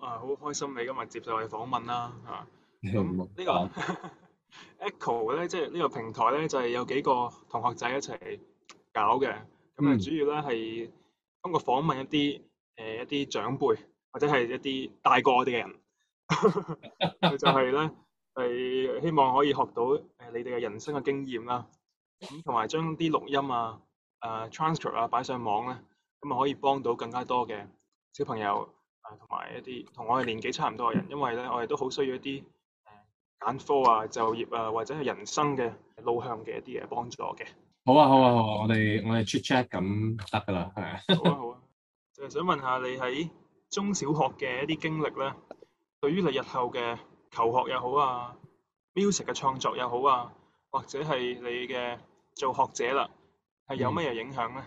好開心你今日接受我嘅訪問啦咁冇呢講個 Echo 咧，即係呢個平台咧，就係有幾個同學仔一齊搞嘅。咁啊， 嗯， 主要咧係通過訪問一啲長輩或者係一啲大過我哋嘅人，佢就係咧係希望可以學到你哋嘅人生嘅經驗啦。咁同埋將啲錄音transcript 擺上網咧，咁啊可以幫到更加多嘅小朋友同埋一啲同我哋年紀差唔多嘅人，因為咧我哋都好需要一啲揀科就業或者係人生嘅路向嘅一啲嘅幫助嘅。 好啊，好啊，好誒啊，我哋 chat chat 咁得噶啦，係啊。 好啊好啊，就係想問下你喺中小學嘅一啲經歷咧，對於你日後嘅求學又好music 嘅創作又好或者係你嘅做學者啦，係有嗯， 乜嘢影響咧？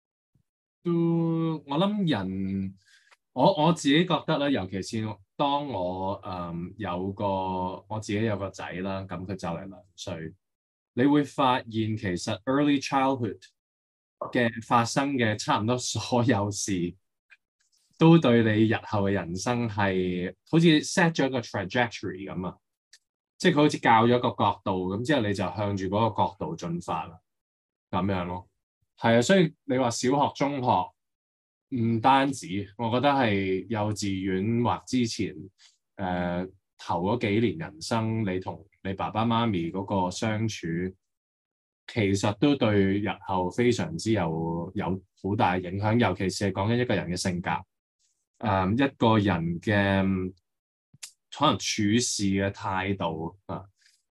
都我諗我自己覺得咧，尤其是當我我自己有個仔啦，咁佢就嚟2歲，你會發現其實 early childhood 嘅發生嘅差唔多所有事，都對你日後嘅人生係好似 set 咗一個 trajectory 咁啊！即係佢好似教咗一個角度，咁之後你就向住嗰個角度進發啦，咁樣咯。係啊，所以你話小學、中學唔單止，我覺得係幼稚園或之前頭嗰幾年人生，你同你爸爸媽咪嗰個相處，其實都對日後非常之有好大影響，尤其是係講緊一個人嘅性格，一個人嘅可能處事嘅態度啊，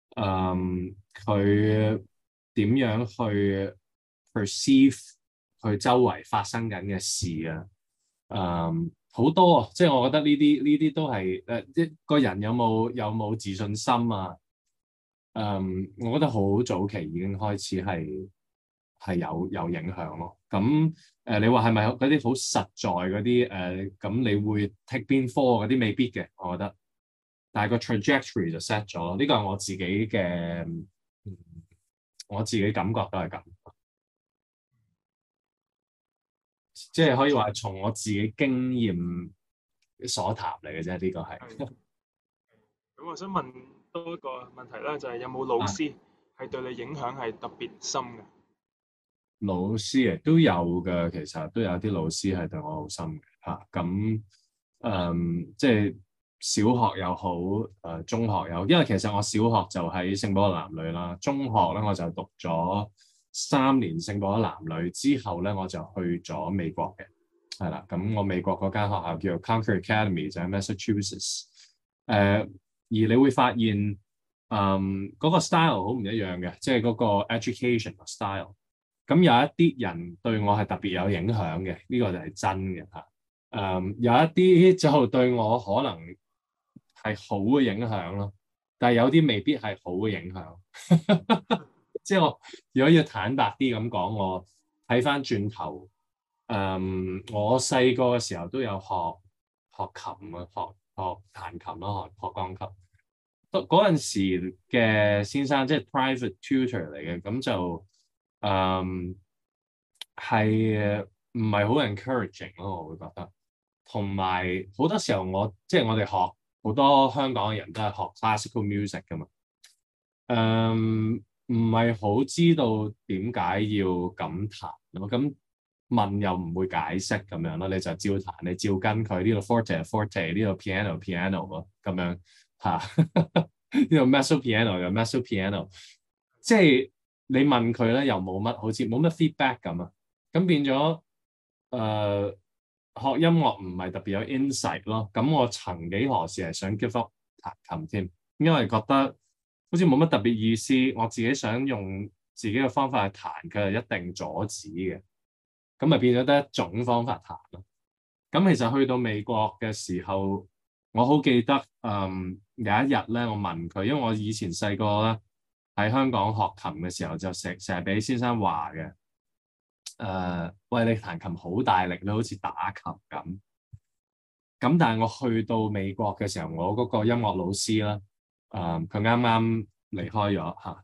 佢點樣去 perceive 佢周圍發生緊嘅事啊，好多啊，即係我覺得呢啲都係一個人有冇自信心啊，我覺得好早期已經開始係有影響咯。咁你話係咪嗰啲好實在嗰啲咁你會 take 邊科嗰啲未必嘅，我覺得。但係個 trajectory 就 set 咗咯。呢個係我自己嘅，我自己感覺都係咁，即係可以話從我自己經驗所談嚟嘅啫。呢個係係咁，我想問多一個問題啦，就係有冇老啊， 師係對你影響係特別深嘅？ 老師亦都有嘅，其實都有啲老師係對我好深嘅嚇。咁即係小學又好，中學又好，因為其實我小學就喺聖保羅男女啦，中學咧我就讀咗3年聖保羅男女，之後咧我就去咗美國嘅，係啦。咁我美國嗰間學校叫做 Concord Academy，就喺 Massachusetts。而你會發現，嗰個 style 好唔一樣嘅，即係嗰個 education style。咁有一啲人對我係特別有影響嘅，呢個就係真嘅嚇。有一啲就對我可能係好嘅影響咯，但係有啲未必係好嘅影響。即係我如果要坦白啲咁講，我睇翻轉頭，我細個嘅時候都有學琴啊，學彈琴咯，學鋼琴。嗰陣時嘅先生即係 private tutor 嚟嘅，咁就係唔係好 encouraging 咯，我會覺得。同埋好多時候即係我哋學好多香港嘅人都係學 classical music 噶嘛，唔係好知道點解要咁彈咯，咁問又唔會解釋咁樣咯，你就照彈，你照跟佢呢度 forte forte，呢度 piano piano 咯，咁樣嚇，呢度 mezzo piano 又 mezzo piano，即係你問佢咧又冇乜，好似冇乜 feedback 咁啊，咁變咗誒、呃、學音樂唔係特別有 insight 咯，咁我曾幾何時係想 give up 彈琴添，因為覺得好似冇乜特別意思，我自己想用自己嘅方法去彈，佢係一定阻止嘅，咁咪變咗得一種方法彈咯。咁其實去到美國嘅時候，我好記得，有一日咧，我問佢，因為我以前細個咧喺香港學琴嘅時候，就成日俾先生話嘅，喂，你彈琴好大力，你好似打琴咁。咁但係我去到美國嘅時候，我嗰個音樂老師啦，佢啱啱離開咗嚇，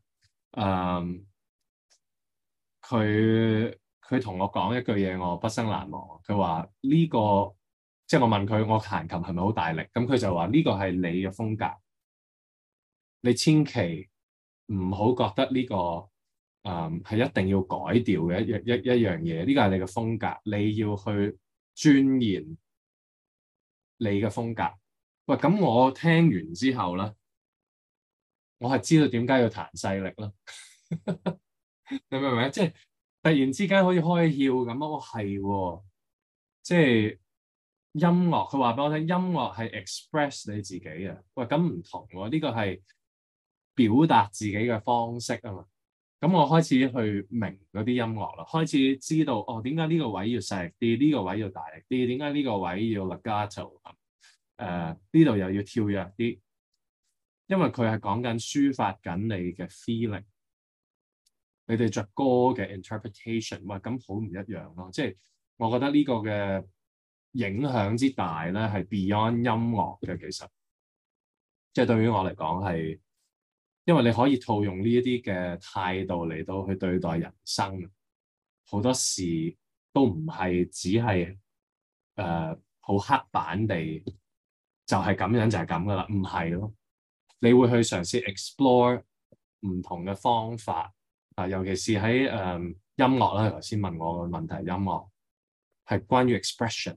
佢佢同我講一句嘢，我畢生難忘。佢話呢個即係我問佢我彈琴係咪好大力，咁佢就話呢個係你嘅風格，你千祈唔好覺得呢個係一定要改調嘅一樣嘢，呢個係你嘅風格，你要去鑽研你嘅風格。喂，咁我聽完之後咧，我係知道點解要彈細力啦。你明唔明？即係突然之間好似開竅咁啊！我係喎，即係音樂。佢話俾我聽，音樂係 express 你自己啊。喂，咁唔同喎，呢個係表達自己嘅方式啊嘛。咁我開始去明嗰啲音樂啦，開始知道哦，點解呢個位要細力啲，呢個位要大力啲，點解呢個位要 legato 呢度又要跳躍啲，因為佢係講緊抒發緊你嘅 feeling。你哋着歌嘅 interpretation，喂，咁好唔一樣咯。即係我覺得呢個嘅影響之大咧，係 beyond 音樂嘅。其實，即係對於我嚟講係，因為你可以套用呢一啲嘅態度嚟到去對待人生，好多事都唔係只係好刻板地就係咁樣就係咁噶啦，唔係咯。你會去嘗試 explore 唔同嘅方法。尤其是喺音樂啦，頭先問我嘅問題，音樂係關於 expression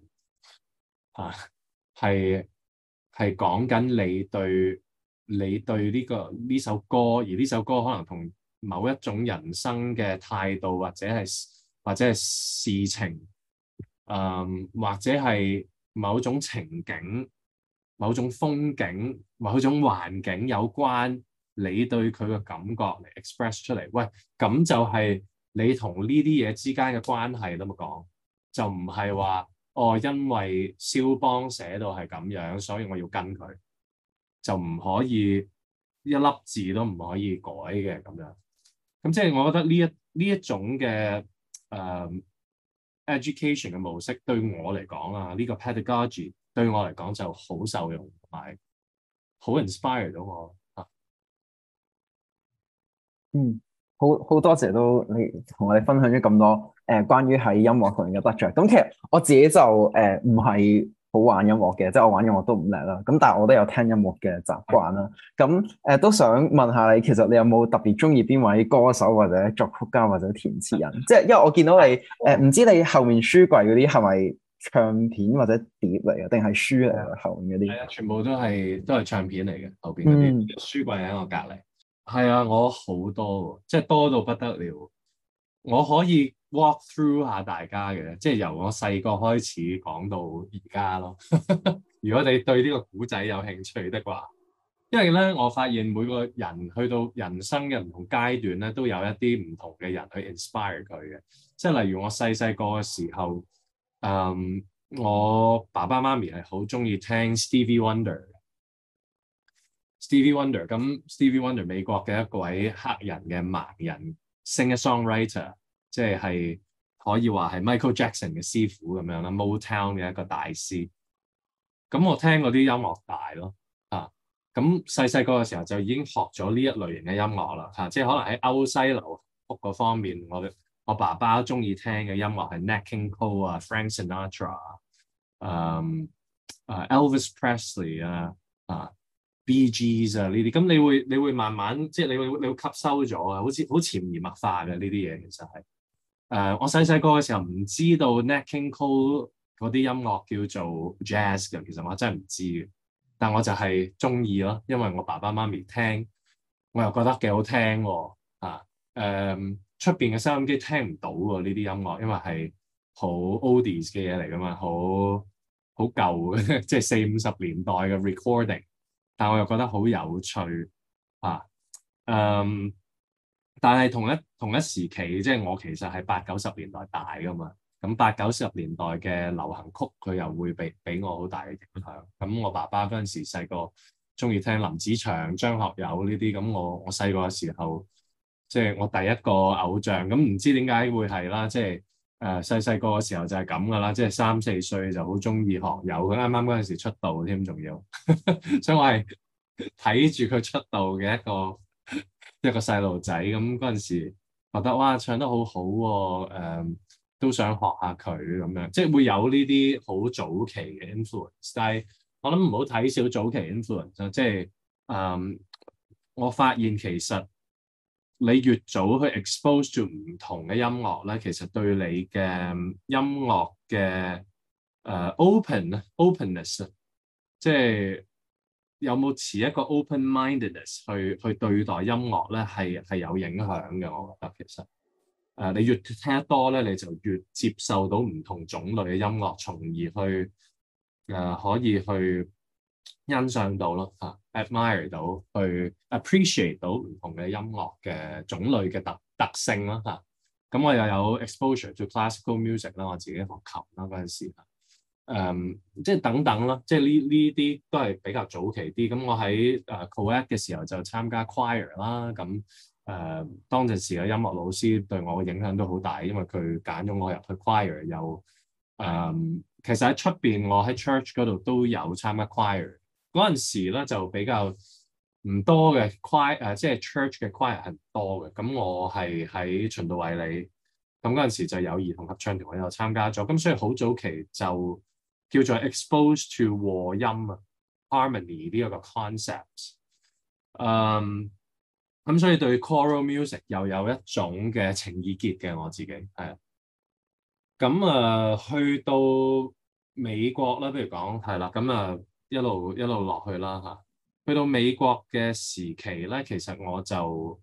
係講緊你對呢首歌，而呢首歌可能同某一種人生嘅態度，或者係事情，或者係某種情景、某種風景、某種環境有關。你對佢嘅感覺嚟 express 出嚟，喂，咁就係你同呢啲嘢之間嘅關係啦嘛講，就唔係話哦，因為肖邦寫到係咁樣，所以我要跟佢，就唔可以一粒字都唔可以改嘅咁樣。咁即係我覺得呢一種嘅education 嘅模式對我嚟講啊，呢個 pedagogy 對我嚟講就好受用，同埋好 inspire 到我。 嗯，好多謝都你同我哋分享咗咁多關於喺音樂上面嘅得着。咁其實我自己就唔係好玩音樂嘅，即係我玩音樂都唔叻啦。咁但係我都有聽音樂嘅習慣啦。咁都想問下你，其實你有冇特別中意邊位歌手或者作曲家或者填詞人？即係因為我見到你唔知你後面書櫃嗰啲係咪唱片或者碟嚟嘅，定係書嚟嘅後面嗰啲？ 係啊，全部都係唱片嚟嘅，後邊嗰啲書櫃喺我隔離。係啊，我好多喎，即係多到不得了。我可以 walk through 下大家嘅，即係由我細個開始講到而家咯。如果你對呢個古仔有興趣的話，因為咧，我發現每個人去到人生嘅唔同階段咧，都有一啲唔同嘅人去 inspire 佢嘅。即係例如我細細個嘅時候，我爸爸媽咪係好中意聽 Stevie Wonder。Stevie Wonder 咁 Stevie Wonder 美國嘅一位黑人嘅盲人 singer-songwriter，即係可以話係 Michael Jackson 嘅師傅咁樣啦，Motown 嘅一個大師。咁我聽嗰啲音樂大咯，咁細細個嘅時候就已經學咗呢一類型嘅音樂啦，即係可能喺歐西流曲嗰方面，我爸爸中意聽嘅音樂係 Nat King Cole 啊、Frank Sinatra、Elvis Presley 啊、Bee Gees 啊呢啲，咁你會慢慢即係你會吸收咗啊，好似好潛移默化嘅呢啲嘢其實係。我細細個嘅時候唔知道 Nat King Cole 嗰啲音樂叫做 jazz 嘅，其實我真係唔知嘅。但我就係中意咯，因為我爸爸媽咪聽，我又覺得幾好聽喎。出邊嘅收音機聽唔到喎呢啲音樂，因為係好 oldies 嘅嘢嚟噶嘛，好舊嘅，即係40-50年代嘅 recording。但我又覺得好有趣啊。但係同一時期，即係我其實係80-90年代大噶嘛。咁80-90年代嘅流行曲，佢又會俾我好大嘅影響。咁我爸爸嗰陣時細個中意聽林子祥、張學友呢啲。咁我細個嘅時候，即係我第一個偶像。咁唔知點解會係啦，即係細個嘅時候就係咁噶啦，即係3-4歲就好中意學友。佢啱啱嗰陣時出道添，仲要，所以我係睇住佢出道嘅一個細路仔。咁嗰陣時覺得哇，唱得好好喎。 都想學下佢咁樣，即係會有呢啲好早期嘅 influence。但係我諗唔好睇小早期 influence 啊，即係我發現其實你越早去 expose to 唔同嘅音樂咧，其實對你嘅音樂嘅openness 啊，即係有冇持一個 open-mindedness 去對待音樂咧，係有影響嘅。我覺得其實你越聽得多咧，你就越接受到唔同種類嘅音樂，從而去可以去欣賞到咯admire 到，去 appreciate 到唔同嘅音樂嘅種類嘅特性啦嚇。咁我又有 exposure to classical music 啦，我自己學琴啦嗰陣時。即係等等啦，即係呢啲都係比較早期啲。咁我喺co-ed 嘅時候就參加 choir 啦。咁當陣時嘅音樂老師對我嘅影響都好大，因為佢揀咗我入去 choir。又其實喺出邊我喺 church 嗰度都有參加 choir。嗰陣時咧就比較唔多嘅 choir，即係 church 嘅 choir 係唔多嘅。咁我係喺循道衛理，咁嗰陣時就有兒童合唱團，我有參加咗。咁所以好早期就叫做 expose to 和音啊 harmony 呢一個 concept。咁所以對 choral music 又有一種嘅情意結嘅，我自己係啊。咁去到美國啦，不如講係啦。咁一路落去啦嚇。去到美國嘅時期咧，其實我就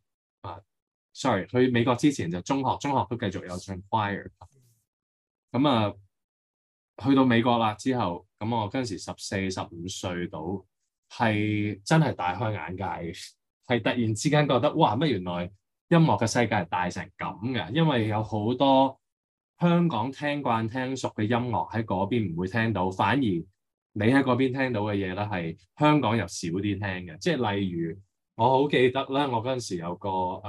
sorry，去美國之前就中學都繼續有唱 choir。咁去到美國啦之後，咁我嗰陣時14、15歲到，係真係大開眼界嘅，係突然之間覺得哇乜原來音樂嘅世界係大成咁嘅，因為有好多香港聽慣聽熟嘅音樂喺嗰邊唔會聽到，反而你喺嗰邊聽到嘅嘢咧係香港又少啲聽嘅。即係例如我好記得咧，我嗰陣時有個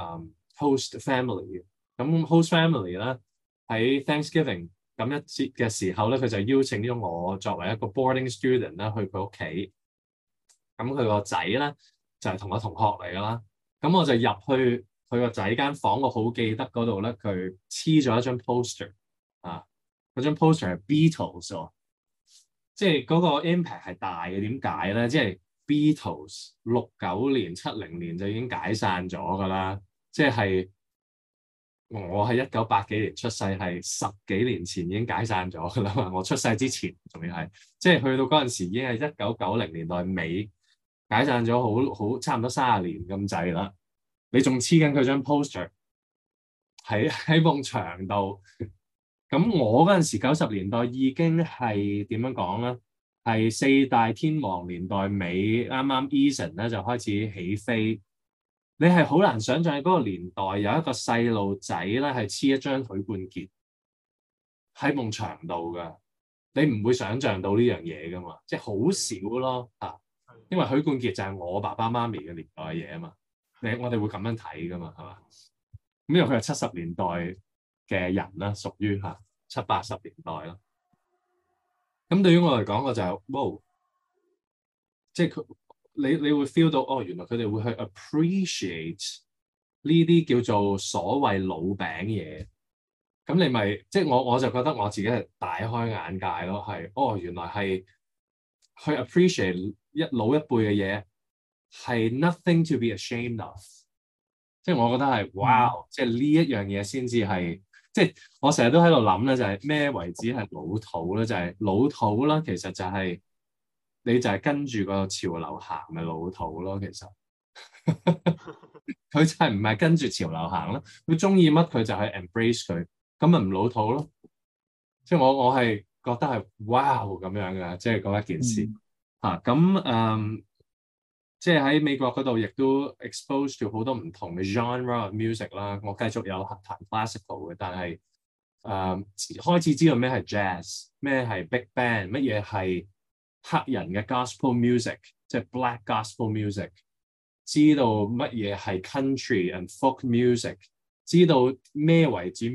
host family 咁 host family 咧喺 Thanksgiving 咁一節嘅時候咧，佢就邀請咗我作為一個 boarding student 咧去佢屋企。咁佢個仔咧就係同我同學嚟㗎啦。咁我就入去佢個仔間房，我好記得嗰度咧，佢黐咗一張 poster 啊。嗰張 poster 係 Beatles 喎，即係嗰個 impact 係大嘅。點解咧？即係 Beatles 69年、70年就已經解散咗㗎啦。即係我係1980幾年出世，係10幾年前已經解散咗㗎啦嘛。我出世之前仲要係，即係去到嗰陣時已經係1990年代尾解散咗，好差唔多30年咁滯啦。你仲黐緊佢張 poster 喺埲牆度。咁我嗰陣時90年代已經係點樣講咧？係四大天王年代尾，啱啱 Eason 咧就開始起飛。你係好難想象喺嗰個年代有一個細路仔咧係黐一張許冠傑喺埲牆度㗎。你唔會想象到呢樣嘢㗎嘛？即係好少咯嚇。因為許冠傑就係我爸爸媽咪嘅年代嘅嘢啊嘛。我哋會咁樣睇㗎嘛，係嘛？咁因為佢係70年代嘅人啦，屬於70、80年代啦。咁對於我嚟講，我就係哇，即係佢你會 feel 到原來佢哋會去 appreciate 呢啲叫做所謂老餅嘢。咁你咪即係我就覺得我自己係大開眼界咯，係原來係去 appreciate 老一輩嘅嘢係 nothing to be ashamed of。即係我覺得係哇，即係呢一樣嘢先至係，即係我成日都喺度諗咧，就係咩為止係老土咧？就係老土啦，其實就係你就係跟住個潮流行嘅老土咯。其實佢就係唔係跟住潮流行咯，佢中意乜佢就係 embrace 佢，咁咪唔老土咯。即係我係覺得係哇咁樣嘅，即係嗰一件事咁即係喺美國嗰度，亦都 expose to 好多唔同嘅 genre of music 啦。我繼續有彈 classical 嘅，但係開始知道咩係 jazz，咩係 big band，乜嘢係黑人嘅 gospel music，即係 black gospel music，知道乜嘢係 country and folk music，知道咩為止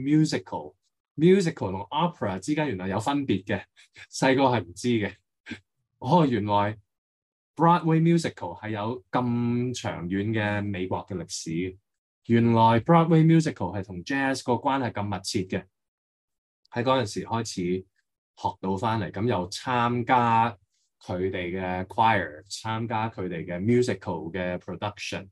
musical 同 opera 之間原來有分別嘅，細個係唔知嘅。原來Broadway musical 係有咁長遠嘅美國嘅歷史，原來 Broadway musical 係同 jazz 個關係咁密切嘅。 喺嗰陣時開始學到翻嚟，咁又參加佢哋嘅 choir，參加佢哋嘅 musical 嘅 production，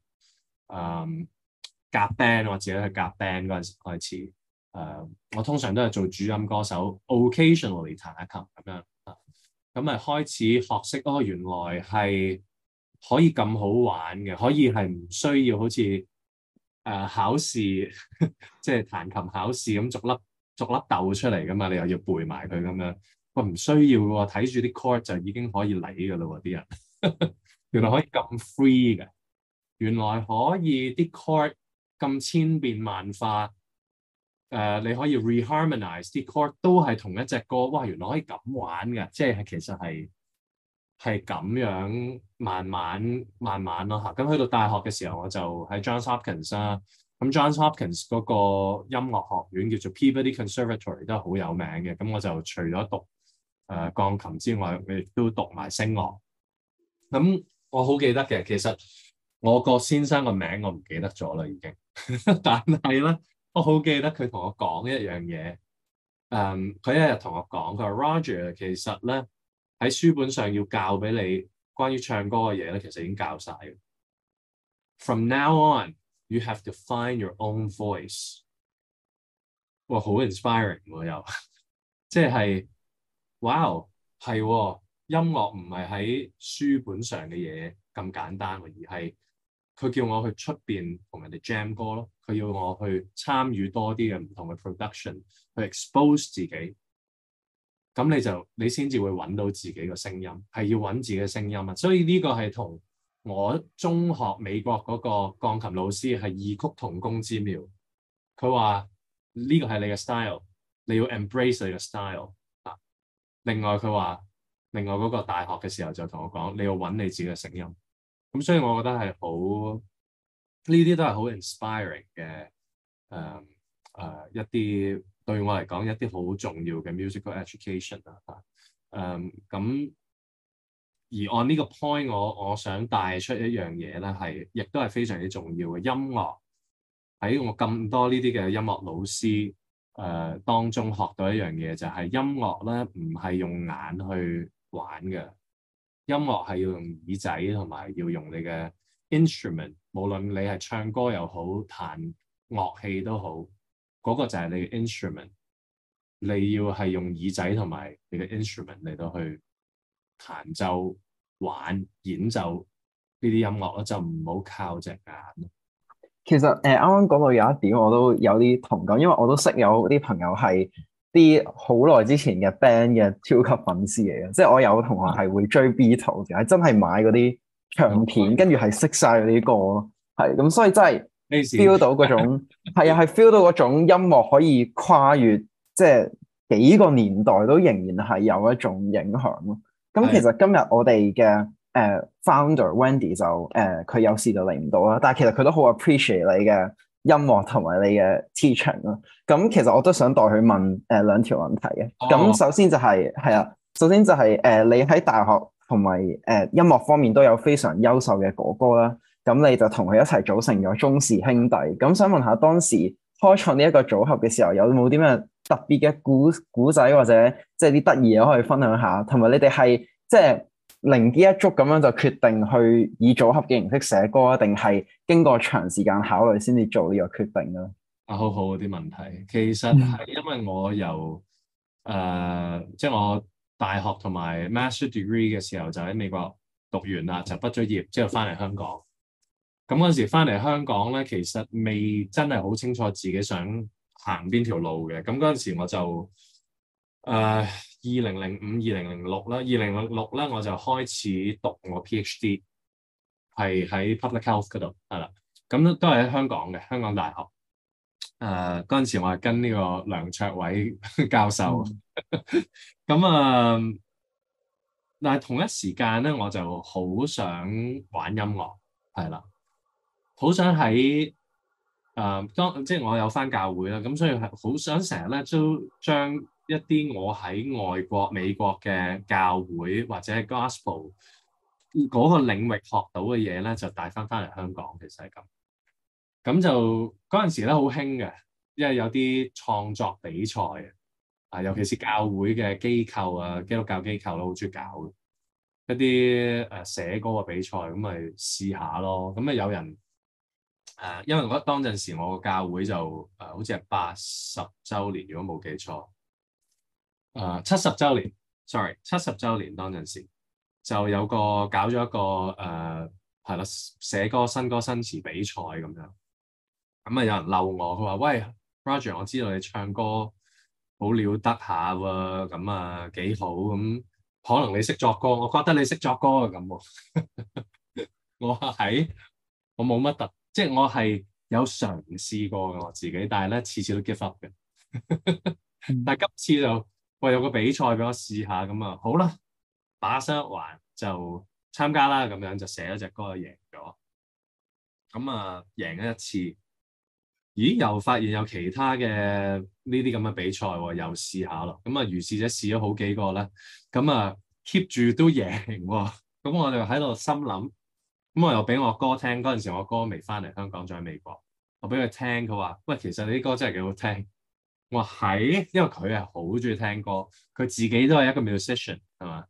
夾 band 我自己去夾 band 嗰陣時開始，我通常都係做主音歌手，occasionally 彈下琴咁樣，咁咪開始學識原來係可以咁好玩嘅，可以係唔需要好似考試即係彈琴考試咁逐粒豆出嚟噶嘛，你又要背埋佢咁樣，喂唔需要喎，睇住啲 chord 就已經可以嚟噶啦喎，啲人原來可以咁 free 嘅，原來可以啲 chord 咁千變萬化，你可以 reharmonize 啲 chord 都係同一隻歌，哇原來可以咁玩嘅，即係其實係咁樣慢慢咯嚇。咁去到大學嘅時候，我就喺 Johns Hopkins 啦。咁 Johns Hopkins 嗰個音樂學院叫做 Peabody Conservatory 都係好有名嘅。咁我就除咗讀鋼琴之外，我亦都讀埋聲樂。咁我好記得嘅，其實我個先生個名我唔記得咗啦已經，但係咧我好記得佢同我講一樣嘢。佢一日同我講，佢話 Roger 其實咧喺書本上要教俾你關於唱歌嘅嘢咧，其實已經教晒嘅。From now on, you have to find your own voice。哇，好 inspiring 喎又，即係，哇，係喎，音樂唔係喺書本上嘅嘢咁簡單喎，而係佢叫我去出邊同人哋 jam 歌咯，佢要我去參與多啲嘅唔同嘅 production，去 expose 自己。咁你先至會揾到自己個聲音，係要揾自己嘅聲音啊！所以呢個係同我中學美國嗰個鋼琴老師係異曲同工之妙。佢話呢個係你嘅 style， 你要 embrace 你嘅 style 啊！另外嗰個大學嘅時候就同我講，你要揾你自己嘅聲音。咁所以我覺得係好，呢啲都係好 inspiring 嘅一啲。對我嚟講，一啲好重要嘅 musical education 咁而按呢個 point，我想帶出一樣嘢咧，亦都係非常之重要嘅。音樂喺我咁多呢啲嘅音樂老師當中學到一樣嘢，就係音樂咧唔係用眼去玩嘅，音樂係要用耳仔同埋要用你嘅 instrument， 無論你係唱歌又好，彈樂器都好。嗰個就係你嘅 instrument， 你要係用耳仔同埋你嘅 instrument 嚟到去彈奏、玩、演奏呢啲音樂咯，就唔好靠隻眼。 其實啱啱講到有一點我都有啲同感，因為我都識有啲朋友係啲好耐之前嘅 band 嘅超級粉絲嚟嘅，即係我有同學係會追 Beatles 嘅，係真係買嗰啲唱片，跟住係識晒嗰啲歌咯，係咁，所以真係 feel 到嗰種係啊，係 feel 到嗰種音樂可以跨越即係幾個年代都仍然係有一種影響咯。咁其實今日我哋嘅founder Wendy 就佢有事就嚟唔到啦，但係其實佢都好 appreciate 你嘅音樂同埋你嘅 teaching 咯。咁其實我都想代佢問兩條問題嘅。咁首先就係首先就係你喺大學同埋音樂方面都有非常優秀嘅哥哥啦。咁你就同佢一齊組成咗鍾氏兄弟。咁想問下當時開創呢一個組合嘅時候，有冇啲咩特別嘅故仔或者即係啲得意嘢可以分享下？同埋你哋係即係靈機一觸咁樣就決定去以組合嘅形式寫歌，定係經過長時間考慮先至做呢個決定咧？ 好好啲問題，其實係因為我由即係我大學同埋 master degree 嘅時候就喺美國讀完啦，就畢咗業之後翻嚟香港。咁嗰陣時翻嚟香港咧，其實未真係好清楚自己想行邊條路嘅。咁嗰陣時我就2005、2006啦，2006咧我就開始讀我 PhD， 係喺 Public Health 嗰度係啦。咁都係喺香港嘅香港大學。嗰陣時我係跟呢個梁卓偉教授。咁但係同一時間咧，我就好想玩音樂，係啦。好想喺即係我有返教會啦，咁所以係好想成日咧都將一啲我喺外國美國嘅教會或者係 gospel 嗰個領域學到嘅嘢咧，就帶返嚟香港。其實係咁。咁就嗰陣時咧好興嘅，因為有啲創作比賽， 尤其是教會嘅機構啊，基督教機構都好中意搞一啲寫歌嘅比賽，咁咪試下咯。咁啊有人因為我當陣時我個教會就好似係80週年，如果冇記錯，70週年，70週年當陣時就有搞咗一個係啦，寫歌新歌新詞比賽咁樣。咁啊有人嬲我，佢話：喂 Roger， 我知道你唱歌好了得下喎，咁啊幾好咁，可能你識作歌，我覺得你識作歌啊咁喎。我話係，我冇乜即係我係有嘗試過嘅我自己，但係咧次次都 give up 嘅。但係今次就有個比賽俾我試下，咁啊好啦，把心一橫就參加啦，咁樣就寫咗隻歌就贏咗。咁啊贏咗一次，咦又發現有其他嘅呢啲咁嘅比賽喎，又試下咯。咁啊如是者試咗好幾個咧，咁啊 keep 住都贏喎。咁我就喺度心諗。咁我又俾我哥聽，嗰陣時我哥未翻嚟香港，仲喺美國。我俾佢聽，佢話：喂，其實你啲歌真係幾好聽。我話係，因為佢係好中意聽歌，佢自己都係一個 musician 係嘛？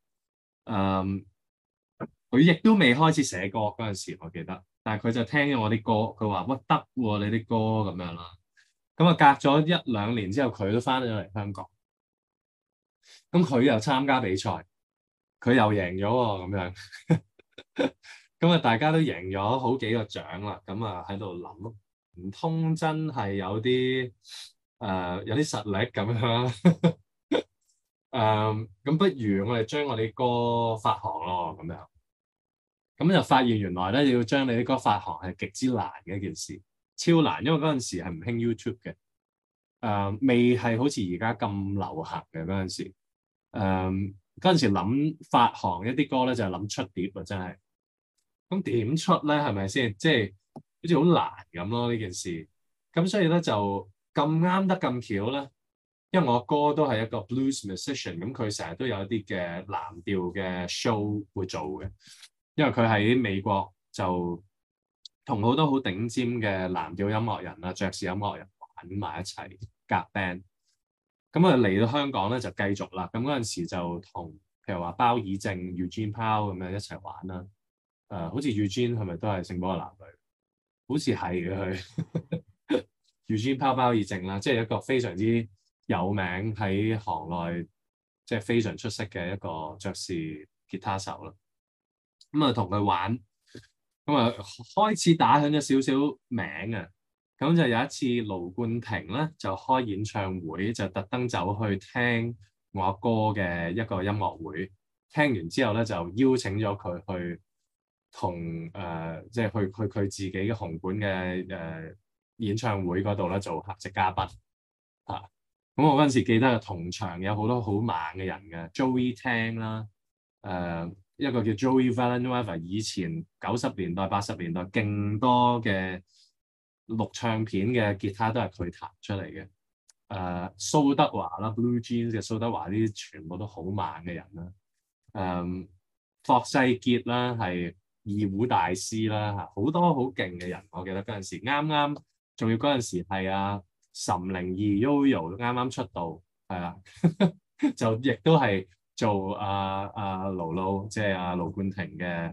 佢亦都未開始寫歌嗰陣時，我記得，但係佢就聽咗我啲歌，佢話：喂，得喎，你啲歌咁樣啦。咁啊，隔咗1-2年之後，佢都翻咗嚟香港。咁佢又參加比賽，佢又贏咗喎，咁樣。咁啊，大家都贏咗好幾個獎啦，咁啊喺度諗，唔通真係有啲有啲實力咁樣？咁不如我哋將我哋歌發行咯，咁樣。咁就發現原來咧要將你啲歌發行係極之難嘅一件事，超難，因為嗰陣時係唔興 YouTube 嘅，未係好似而家咁流行嘅嗰陣時。嗰陣時諗發行一啲歌咧，就係諗出碟啊，真係。咁點出咧？係咪先？即係好似好難咁咯呢件事。咁所以咧就咁啱得咁巧咧，因為我哥都係一個 blues musician，咁佢成日都有一啲嘅藍調嘅 show 會做嘅。因為佢喺美國就同好多好頂尖嘅藍調音樂人啊、爵士音樂人玩埋一齊夾 band。咁啊嚟到香港咧就繼續啦。咁嗰陣時就同譬如話包爾正、Eugene Pao 咁樣一齊玩啦。好似 Eugene 係咪都係聖保羅男女？好似係嘅佢。Eugene Pao 包爾正啦，即係一個非常之有名喺行內，即係非常出色嘅一個爵士吉他手啦。咁啊同佢玩，咁啊開始打響咗少少名啊。咁就有一次盧冠廷咧就開演唱會，就特登走去聽我阿哥嘅一個音樂會。聽完之後咧就邀請咗佢去同即係去佢自己嘅紅館嘅演唱會嗰度咧做客席嘉賓嚇。咁我嗰陣時記得同場有好多好猛嘅人嘅 Joey Tang 啦，一個叫 Joey Villanueva， 以前90年代80年代勁多嘅錄唱片嘅吉他都係佢彈出嚟嘅。蘇德華啦 ，Blue Jeans 嘅蘇德華，呢啲全部都好猛嘅人啦。霍世傑啦，係二胡大師啦，嚇好多好勁嘅人。我記得嗰陣時啱啱，仲要嗰陣時係岑寧兒 Yoyo 啱啱出道，係啊，就亦都係做盧盧，即係盧冠廷嘅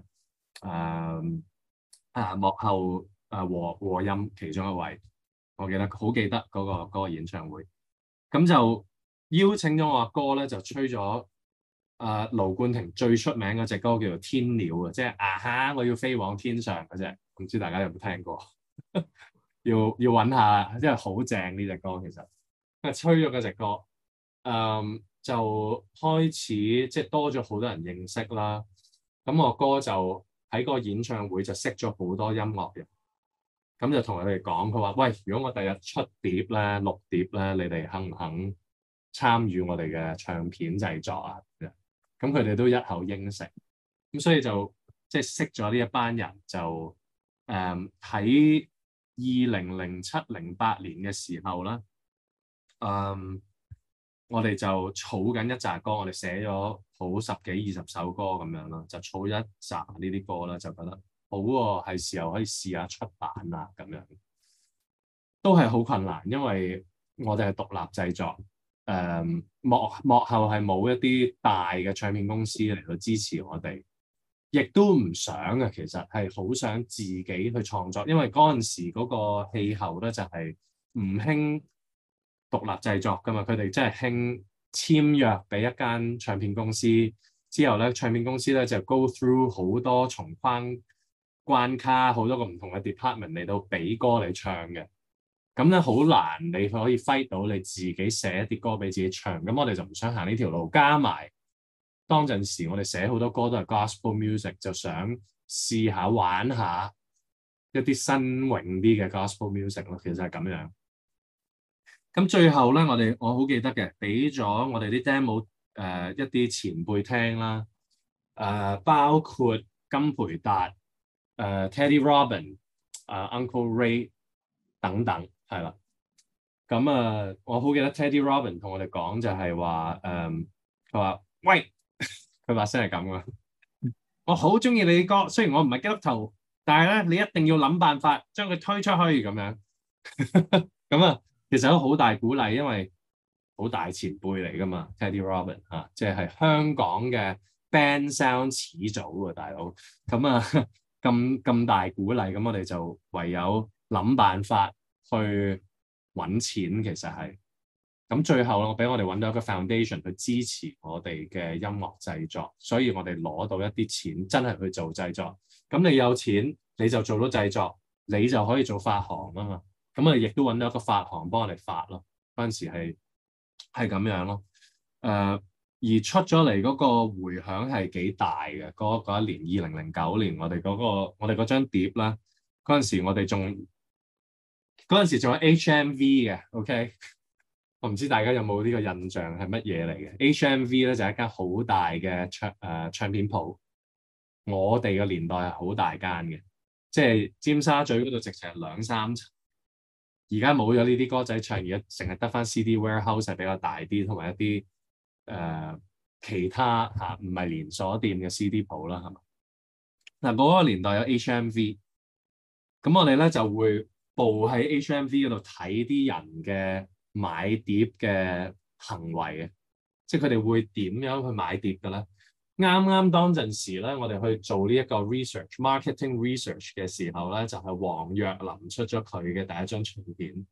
幕後和音其中一位。我記得好記得嗰個演唱會，咁就邀請咗我阿哥咧，就吹咗盧冠廷最出名嗰隻歌叫做《天鳥》啊，即係哈我要飛往天上嗰隻，唔知大家有冇聽過？要揾下，因為好正呢隻歌其實。咁吹咗嗰隻歌，就開始即係多咗好多人認識啦。咁我哥就喺個演唱會就識咗好多音樂人。咁就同佢哋講，佢話：喂，如果我第日出碟咧、錄碟咧，你哋肯唔肯參與我哋嘅唱片製作啊？咁佢哋都一口應承。咁所以就即係識咗呢一班人，就喺2007-08年嘅時候啦，我哋就儲緊一紮歌，我哋寫咗好10幾20首歌咁樣啦，就儲一紮呢啲歌啦，就覺得好喎，係時候可以試下出版啦咁樣，都係好困難，因為我哋係獨立製作， 幕後係冇一啲大嘅唱片公司嚟到支持我哋，亦都唔想嘅。其實係好想自己去創作，因為嗰陣時嗰個氣候咧就係唔興獨立製作㗎嘛，佢哋真係興簽約俾一間唱片公司，之後咧唱片公司咧就 go through 好多重關卡，好多個唔同嘅 department 嚟到俾歌你唱嘅。咁咧好難，你可以 fight 到你自己寫一啲歌俾自己唱。咁我哋就唔想行呢條路，加埋當陣時我哋寫好多歌都係 gospel music，就想試下玩下一啲新穎啲嘅 gospel music 咯。其實係咁樣。咁最後咧，我好記得嘅，俾咗我哋啲 demo 一啲前輩聽啦，包括金培達、Teddy Robin、Uncle Ray 等等，係啦。咁我好記得 Teddy Robin 同我哋講就係話，佢話喂，佢把聲係咁嘅，我好中意你啲歌，雖然我唔係基督徒，但係咧你一定要諗辦法將佢推出去咁樣。咁其實都好大鼓勵，因為好大前輩嚟噶嘛 ，Teddy Robin 嚇，即係香港嘅 band sound 始祖喎，大佬。咁大鼓勵，咁我哋就唯有諗辦法去揾錢，其實係。咁最後我俾我哋揾到一個 foundation 去支持我哋嘅音樂製作，所以我哋攞到一啲錢，真係去做製作。咁你有錢，你就做到製作，你就可以做發行啊嘛。咁亦都揾到一個發行幫我哋發咯。嗰陣時係咁樣咯。而出咗嚟嗰個迴響係幾大嘅。嗰一年2009年，我哋嗰張碟啦，嗰陣時我哋仲有 HMV 嘅 ，OK。我唔知大家有冇呢個印象係乜嘢嚟嘅 ？HMV 咧就係一間好大嘅唱片鋪。我哋嘅年代係好大間嘅，即係尖沙咀嗰度直情係2、3層。而家冇咗呢啲歌仔唱，而家淨係得翻 CD warehouse 係比較大啲，同埋一啲其他唔係連鎖店嘅 CD 鋪啦，係嘛？嗱，嗰個年代有 HMV， 咁我哋咧就會步喺 HMV 嗰度睇啲人嘅買碟嘅行為嘅，即係佢哋會點樣去買碟嘅咧？啱當陣時咧，我哋去做呢一個 marketing research 嘅時候咧，就係黃若琳出咗佢嘅第一張唱片，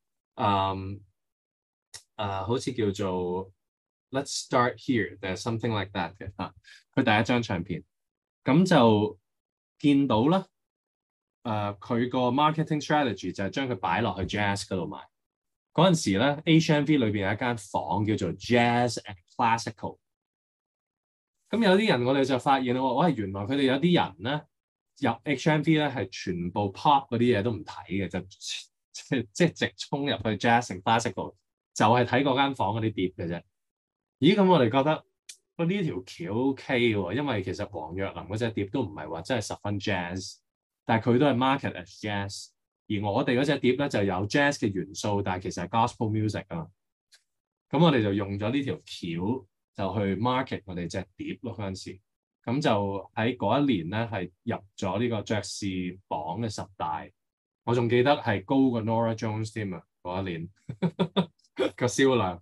好似叫做 Let's Start Here，there's something like that 嘅嚇，佢第一張唱片，咁就見到啦，佢個 marketing strategy 就係將佢擺落去 jazz 嗰度賣。嗰陣時咧 ，HMV 裏邊有一間房叫做 Jazz and Classical。咁有啲人我哋就發現喂，原來佢哋有啲人咧入 HMV 咧係全部 pop 嗰啲嘢都唔睇嘅，就即係直衝入去 Jazz and Classical， 就係睇嗰間房嗰啲碟嘅啫。咦？咁我哋覺得呢條橋 OK 喎，因為其實黃若琳嗰隻碟都唔係話真係十分 jazz， 但係佢都係 market as jazz。而我哋嗰隻碟咧就有 jazz 嘅元素，但係其實係 gospel music 啊嘛。咁我哋就用咗呢條橋就去 market 我哋隻碟咯嗰陣時。咁就喺嗰一年咧係入咗呢個爵士榜嘅10大。我仲記得係高過 Nora Jones 添啊嗰一年個銷量。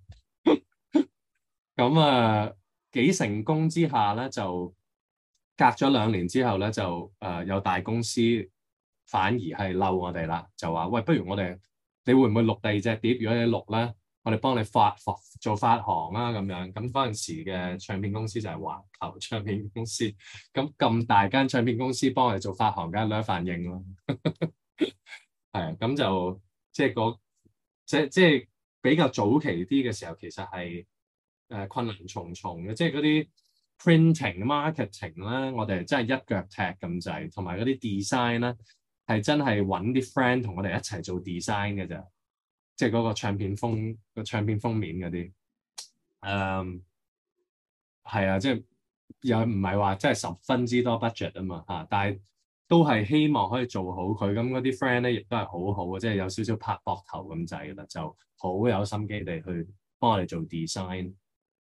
咁幾成功之下咧，就隔咗2年之後咧，就有大公司反而係嬲我哋啦，就話喂，不如你會唔會錄第二隻碟？如果你錄咧，我哋幫你做發行啦咁樣。咁嗰陣時嘅唱片公司就係環球唱片公司。咁大間唱片公司幫我哋做發行，梗係兩反應咯。係咁就即係比較早期啲嘅時候，其實係困難重重嘅，即係嗰啲 printing marketing 咧，我哋真係一腳踢咁滯，同埋嗰啲 design 咧係真係揾啲 friend 同我哋一齊做 design 嘅咋，即係嗰個唱片封面嗰啲，係啊，即係又唔係話真係10分之多 budget 啊嘛嚇，但係都係希望可以做好佢，咁嗰啲 friend 咧亦都係好好嘅，即係有少少拍膊頭咁滯嘅啦，就好有心機地去幫我哋做 design。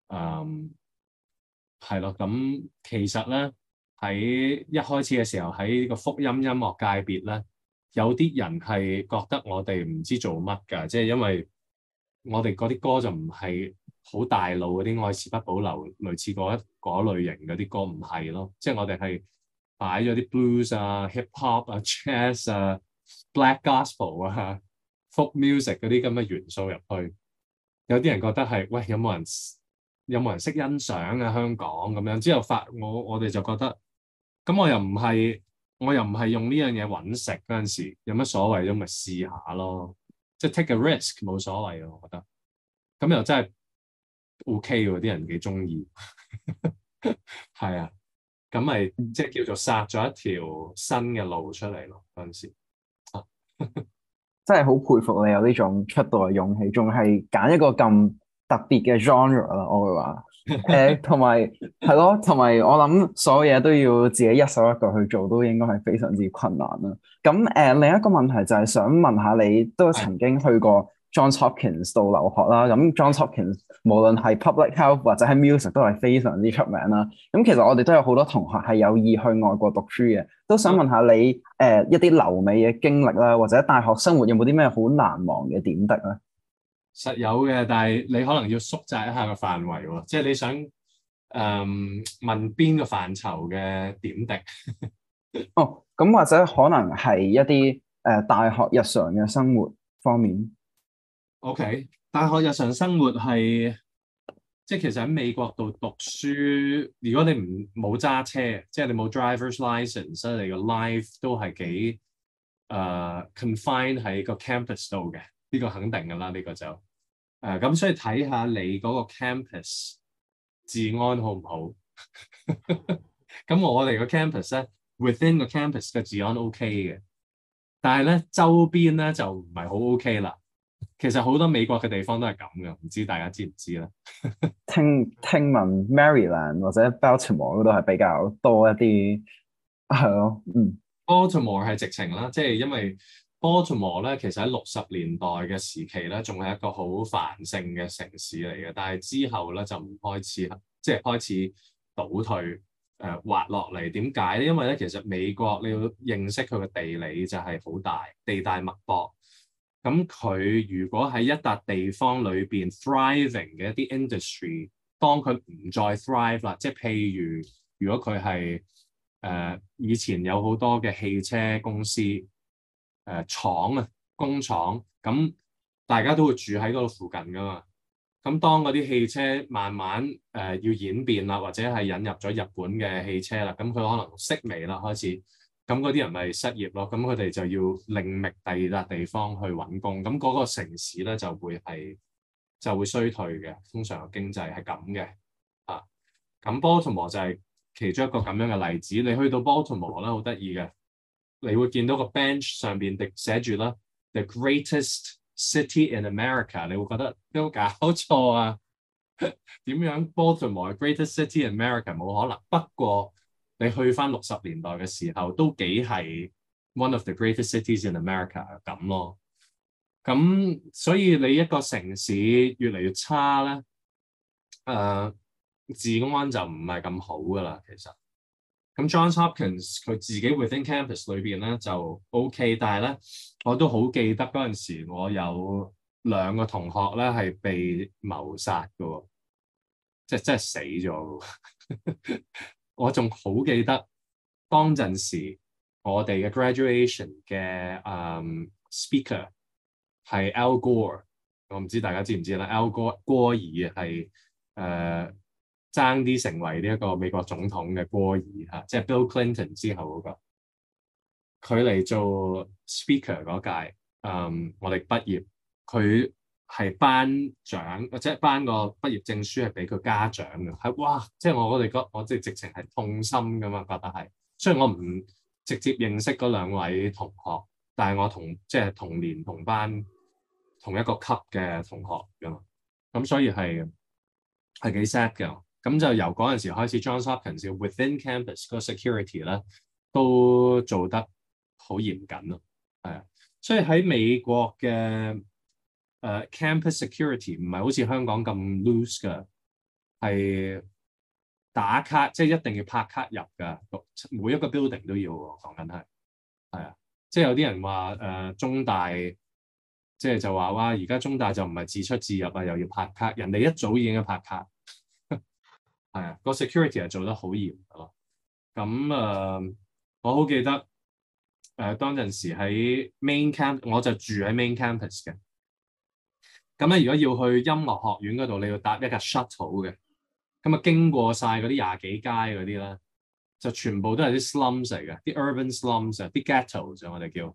係咯，咁其實咧喺一開始嘅時候喺呢個福音音樂界別咧，有啲人係覺得我哋唔知做乜㗎，即係因為我哋嗰啲歌就唔係好大路嗰啲愛是不保留，類似嗰類型嗰啲歌唔係咯，即係我哋係擺咗啲 blues 啊、hip hop 啊、jazz 啊、black gospel 啊、folk music 嗰啲咁嘅元素入去。有啲人覺得係喂，有冇人識欣賞啊香港咁樣？之後我哋就覺得咁我又唔係用呢樣嘢揾食嗰陣時，有乜所謂啫？咪試下咯，即係 take a risk 冇所謂啊，我覺得。咁又真係 OK 喎，啲人幾中意，係啊，咁咪即係叫做殺咗一條新嘅路出嚟咯嗰陣時。 真係好佩服你有呢種出道嘅勇氣，仲係揀一個咁特別嘅 genre 啦，我會話。同埋係咯，同埋我諗所有嘢都要自己一手一腳去做，都應該係非常之困難啦。咁另一個問題就係想問下你，都曾經去過 Johns Hopkins 度留學啦。咁 Johns Hopkins 無論係 public health 或者係 music 都係非常之出名啦。咁其實我哋都有好多同學係有意去外國讀書嘅，都想問下你一啲留美嘅經歷啦，或者大學生活有冇啲咩好難忘嘅點滴咧？ 實有嘅，但係你可能要縮窄一下個範圍喎，即係你想問邊個範疇嘅點滴？ 哦，咁或者可能係一啲大學日常嘅生活方面。 OK，大學日常生活係即係其實喺美國度讀書，如果你冇揸車，即係你冇 driver's license，你個 life 都係幾confined 喺個 campus 度嘅。呢個肯定㗎啦，呢個就咁，所以睇下你嗰個 campus 治安好唔好？咁我哋個 campus 咧 ，within 個 campus 嘅治安 OK 嘅，但係咧周邊咧就唔係好 OK 啦。其實好多美國嘅地方都係咁嘅，唔知大家知唔知咧？ 聽聞 Maryland 或者 Baltimore 嗰度係比較多一啲，係咯， Baltimore 係直情啦，即係因為 Baltimore 咧，其實喺60年代嘅時期咧，仲係一個好繁盛嘅城市嚟嘅，但係之後咧就唔開始，即係開始倒退，滑落嚟。點解咧？因為咧，其實美國你要認識佢嘅地理就係好大，地大物博。咁佢如果喺一笪地方裏邊 thriving 嘅一啲 industry，當佢唔再 thrive 啦，即係譬如果佢係以前有好多嘅汽車公司廠啊工廠，咁大家都會住喺嗰度附近噶嘛。咁當嗰啲汽車慢慢要演變啦，或者係引入咗日本嘅汽車啦，咁佢可能式微啦開始。咁嗰啲人咪失業咯，咁佢哋就要另覓第二笪地方去揾工，咁嗰個城市咧就會衰退嘅，通常嘅經濟係咁嘅啊。咁 Baltimore 就係其中一個咁樣嘅例子。你去到 Baltimore 咧，好得意嘅，你會見到個 bench 上邊寫住啦 The Greatest City in America， 你會覺得有冇搞錯啊？點樣 Baltimore Greatest City in America 冇可能，不過你去翻60年代嘅時候，都幾係 one of the greatest cities in America 咁咯。咁所以你一個城市越嚟越差咧，治安就唔係咁好噶啦。其實咁 Johns Hopkins 佢自己 within campus 裏邊咧就 OK，但係咧我都好記得嗰陣時，我有2個同學咧係被謀殺嘅喎，即係真係死咗。我仲好記得當陣時我哋嘅 graduation 嘅speaker 係 Al Gore， 我唔知大家知唔知啦。Al Gore 戈爾係爭啲成為呢一個美國總統嘅戈爾嚇，即係 Bill Clinton 之後嗰個，佢嚟做 speaker 嗰屆，我哋畢業，佢係頒獎或者頒個畢業證書係俾佢家長嘅，係哇！即係我哋我即係直情係痛心噶嘛，覺得係。雖然我唔直接認識嗰2位同學，但係我即係同年同班同一個級嘅同學噶嘛，咁所以係幾 sad 嘅。咁就由嗰陣時開始 ，Johns Hopkins within campus 個 security 咧都做得好嚴謹咯，係啊。所以喺美國嘅campus security 唔係好似香港咁 loose 㗎，係打卡，即係一定要拍卡入㗎，每一個 building 都要喎。講緊係啊，即係有啲人話中大即係就話哇，而家中大就唔係自出自入啊，又要拍卡，人哋一早已經拍卡，係啊，個 security 係做得好嚴咯。咁我好記得當陣時喺 main camp，我就住喺 main campus 嘅。咁咧，如果要去音樂學院嗰度，你要搭一架 shuttle 嘅。咁啊，經過晒嗰啲廿幾街嗰啲咧，就全部都係啲 slums 嚟嘅，啲 urban slums 啊，啲 ghettos 我哋叫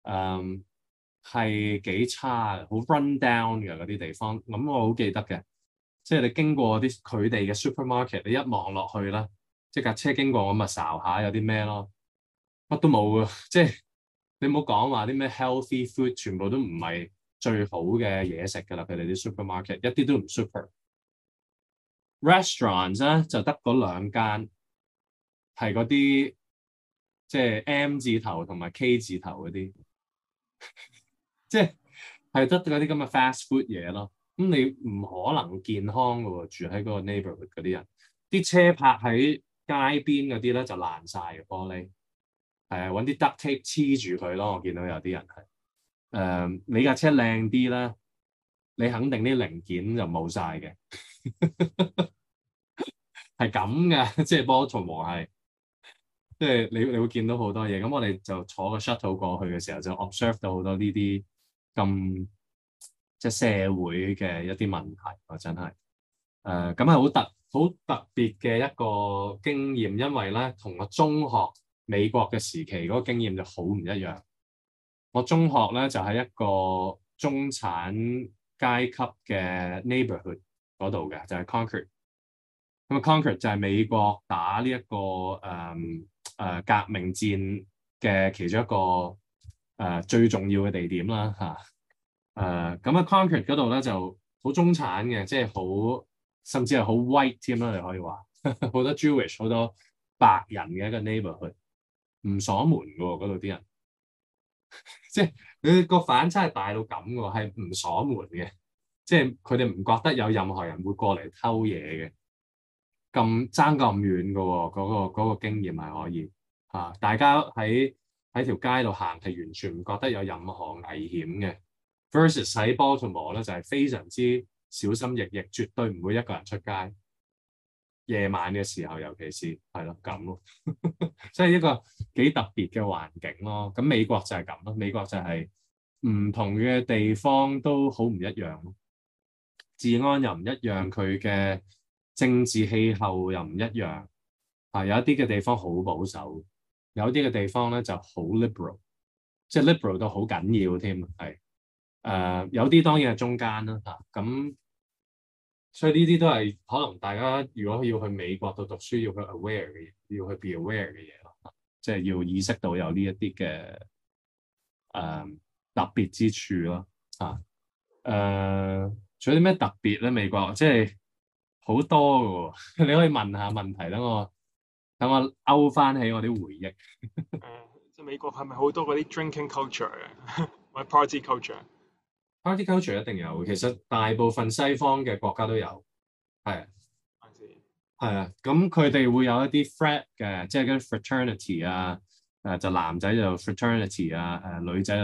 係幾差嘅，好 run down 嘅嗰啲地方。咁我好記得嘅，即係你經過啲佢哋嘅 supermarket，你一望落去啦，即係架車經過咁啊，睄下有啲咩咯，乜都冇啊！即係你唔好講話啲咩 healthy food，全部都唔係最好嘅嘢食㗎啦。佢哋啲 supermarket 一啲都唔 super。restaurants 咧就得嗰兩間，係嗰啲即係 M 字頭同埋 K 字頭嗰啲，即係得嗰啲咁嘅 fast food 嘢咯。咁你唔可能健康㗎喎，住喺嗰個 neighborhood 嗰啲人，啲車泊喺街邊嗰啲咧就爛晒嘅玻璃，係啊，揾啲 duct tape 黐住佢咯。我見到有啲人係你架車靚啲啦，你肯定啲零件就冇晒嘅。係咁嘅，即係Baltimore係，即係你會見到好多嘢。咁我哋就坐個 shuttle 過去嘅時候，就 observe 到好多呢啲咁即係社會嘅一啲問題。我真係咁係好特別嘅一個經驗，因為咧同我中學美國嘅時期嗰個經驗就好唔一樣。我中學咧就喺一個中產階級嘅 neighborhood 嗰度嘅，就係 Concord。咁 Concord 就係美國打呢一個革命戰嘅其中一個最重要嘅地點啦嚇。咁喺 Concord 嗰度咧就好中產嘅，即係好甚至係好 white 添啦，你可以話好多 Jewish 好多白人嘅一個 neighborhood，唔鎖門嘅喎嗰度啲人，即係佢個反差係大到咁嘅喎，係唔鎖門嘅，即係佢哋唔覺得有任何人會過嚟偷嘢嘅。咁爭咁遠嘅喎，嗰個經驗係可以嚇，大家喺條街度行係完全唔覺得有任何危險嘅。Versus 喺 Baltimore 咧就係非常之小心翼翼，絕對唔會一個人出街。夜晚嘅時候，尤其是係咯咁咯，即係一個幾特別嘅環境咯。咁美國就係咁咯，美國就係唔同嘅地方都好唔一樣咯，治安又唔一樣，佢嘅政治氣候又唔一樣，有一啲嘅地方好保守，有啲嘅地方咧就好 liberal， 即係 liberal 到好緊要添，係有啲當然係中間啦嚇，咁所以呢啲都係可能大家如果要去美國度讀書要去 aware 嘅嘢，要去 be aware 嘅嘢咯，即係要意識到有呢一啲嘅特別之處咯嚇。仲有啲咩特別咧？美國即係好多嘅喎，你可以問下問題，等我勾翻起我啲回憶。 即係美國係咪好多嗰啲 drinking culture 嘅，或者 party culture？Party culture 一定有，其實大部分西方嘅國家都有，係啊，咁佢哋會有一啲 frat 嘅，即係嗰啲 fraternity 啊，就男仔就 fraternity 啊，女仔就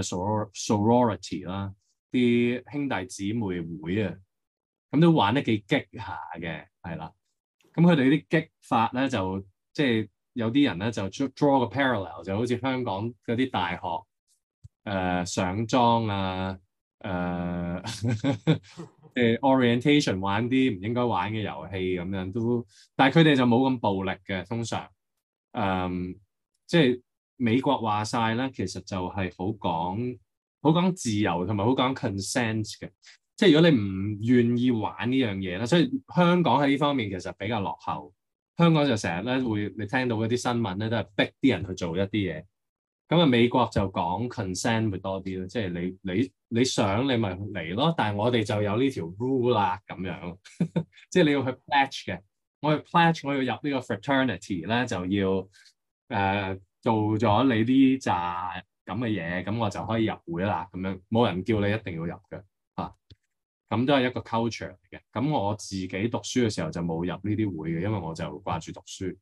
sorority 啦，啲兄弟姊妹會啊，咁都玩得幾激下嘅，係啦。咁佢哋啲激法咧就即係有啲人咧就 draw 個 parallel， 就好似香港嗰啲大學上莊啊，orientation 玩啲唔應該玩嘅遊戲咁樣都，但係佢哋就冇咁暴力嘅，通常即係美國話晒咧，其實就係好講自由同埋好講 consent 嘅。即係如果你唔願意玩呢樣嘢啦，所以香港喺呢方面其實比較落後。香港就成日咧會你聽到嗰啲新聞咧都係逼啲人去做一啲嘢。咁啊美國就講 consent 會多啲咯，即係你想你咪嚟咯，但係我哋就有呢條 rule 啦咁樣。即係你要去 pledge 嘅，我去 pledge 我要入呢個 fraternity 咧就要做咗你呢扎咁嘅嘢，咁我就可以入會啦。咁樣冇人叫你一定要入嘅。咁都係一個 culture 嚟嘅。咁我自己讀書嘅時候就冇入呢啲會嘅，因為我就掛住讀書，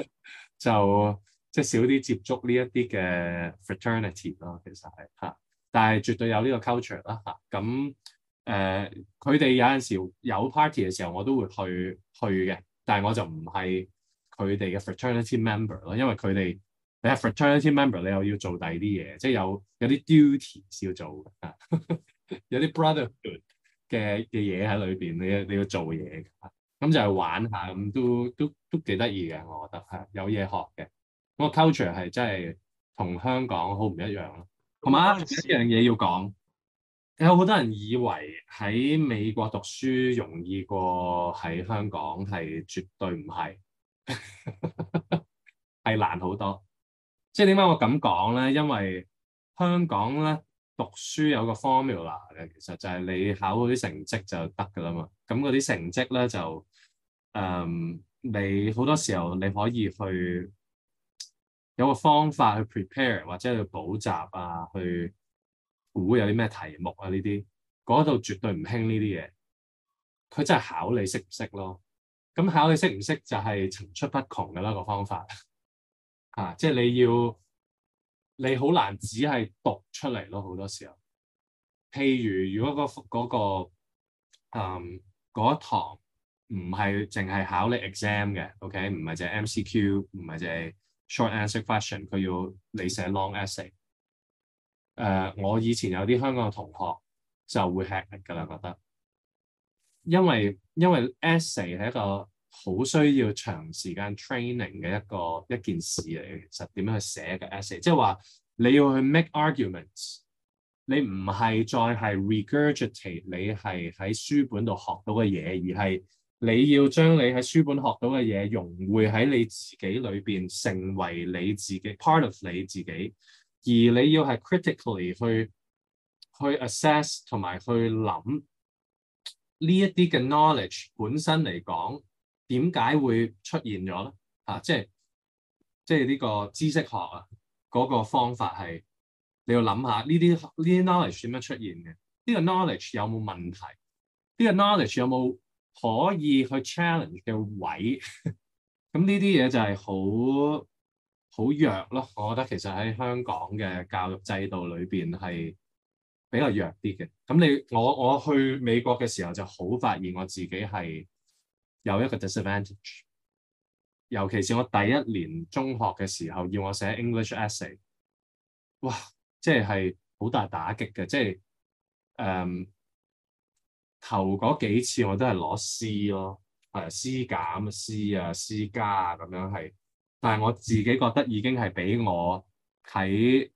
就即係少啲接觸呢一啲嘅 fraternity 咯。其實係嚇， 但係絕對有呢個 culture 啦嚇。咁佢哋有陣時有 party 嘅時候，我都會去嘅，但係我就唔係佢哋嘅 fraternity member 咯，因為佢哋你係 fraternity member，你又要做第二啲嘢，即係有啲 duties 要做啊，有啲 brotherhood 嘅嘢喺裏邊，你要做嘢嘅，咁就係玩下，咁都幾得意嘅，我覺得係有嘢學嘅。咁個 culture 係真係同香港好唔一樣咯。同埋嗰陣時一樣嘢要講。有好多人以為喺美國讀書容易過喺香港，係絕對唔係，係難好多。即係點解我咁講咧？因為香港咧讀書有個 formula 嘅，其實就係你考嗰啲成績就得㗎啦嘛。咁嗰啲成績咧就你好多時候你可以去有個方法去 prepare 或者去補習啊，去估有啲咩題目啊呢啲，嗰度絕對唔興呢啲嘢。佢真係考你識唔識咯。咁考你識唔識就係層出不窮㗎啦個方法啊！即係你好難只係讀出嚟咯，好多時候。譬如如果嗰一堂唔係淨係考你 exam 嘅，OK，唔係淨係 MCQ，唔係淨係 short answer question，佢要你寫 long essay。我以前有啲香港嘅同學就會吃力㗎啦，覺得，因為 essay 係一個好需要長時間 training 嘅一件事嚟嘅。其實點樣去寫一個 essay，即係話你要去 make arguments，你唔係再係 regurgitate 你係喺書本度學到嘅嘢，而係你要將你喺書本學到嘅嘢融匯喺你自己裏邊，成為你自己 part of 你自己。而你要係 critically 去 assess 同埋去諗呢一啲嘅 knowledge 本身嚟講，點解會出現咗咧？即係呢個知識學啊，嗰個方法係你要諗下呢啲 knowledge 點樣出現嘅？呢個 knowledge 有冇問題？呢個 knowledge 有冇可以去 challenge 嘅位？咁呢啲嘢就係好弱咯，我覺得其實喺香港嘅教育制度裏邊係比較弱啲嘅。咁我去美國嘅時候就好發現我自己係有一個 disadvantage，尤其是我第一年中學嘅時候要我寫 English essay， 哇，即係好大打擊嘅，即係頭嗰幾次我都係攞 C 咯，係 C 減 C 啊 C 加啊咁樣係。但係我自己覺得已經係比我喺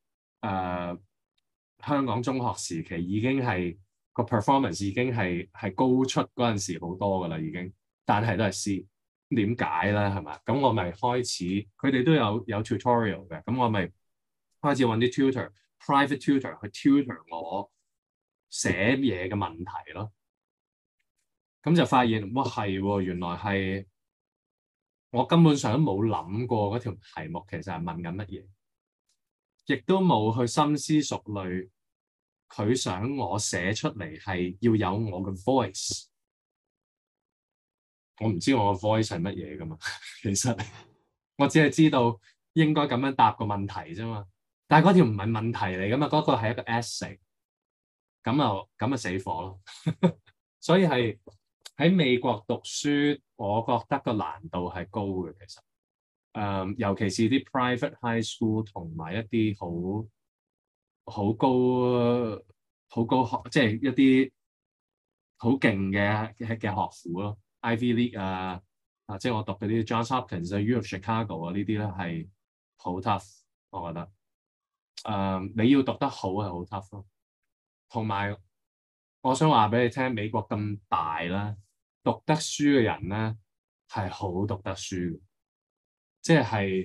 香港中學時期已經係個 performance 已經係高出嗰陣時好多㗎啦，已經。但係都係 C，點解咧？係嘛？咁我咪開始，佢哋都有 tutorial 嘅，咁我咪開始揾啲 private tutor 去 tutor 我寫嘢嘅問題咯。咁就發現，哇係喎，原來係。我根本上都冇諗過嗰條題目其實係問緊乜嘢，亦都冇去深思熟慮。佢想我寫出嚟係要有我嘅 voice， 我唔知我嘅 voice 係乜嘢㗎嘛。其實我只係知道應該咁樣答個問題啫嘛。但係嗰條唔係問題嚟㗎嘛，嗰個係一個 essay， 咁啊死火咯。所以係喺美國讀書，我覺得個難度係高嘅，其實，尤其是啲 private high school 同埋一啲好高學，即係一啲好勁嘅學府咯 ，Ivy League 啊，即係我讀嗰啲 Johns Hopkins 啊、U of Chicago 啊呢啲咧係好 tough， 我覺得，你要讀得好係好 tough 咯，同埋我想話俾你聽，美國咁大啦。讀得書嘅人咧係好讀得書嘅，即係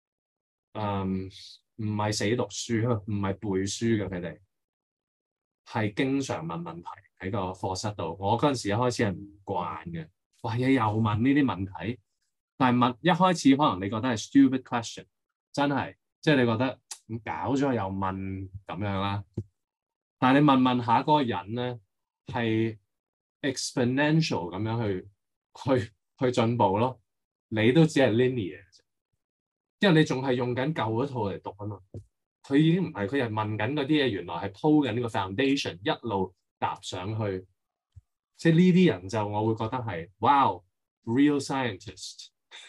唔係死讀書，唔係背書嘅，佢哋係經常問問題喺個課室度。我嗰陣時一開始係唔慣嘅，哇嘢又問呢啲問題，但係問一開始可能你覺得係 stupid question， 真係即係你覺得咁搞咗又問咁樣啦，但係你問下嗰個人咧係。exponential 咁樣去進步咯，你都只係 linear，因為你仲係用緊舊嗰套嚟讀啊嘛，佢佢已經唔係，佢係問緊嗰啲嘢，原來係鋪緊呢個 foundation，一路搭上去。即係呢啲人就我會覺得係，wow，real scientist，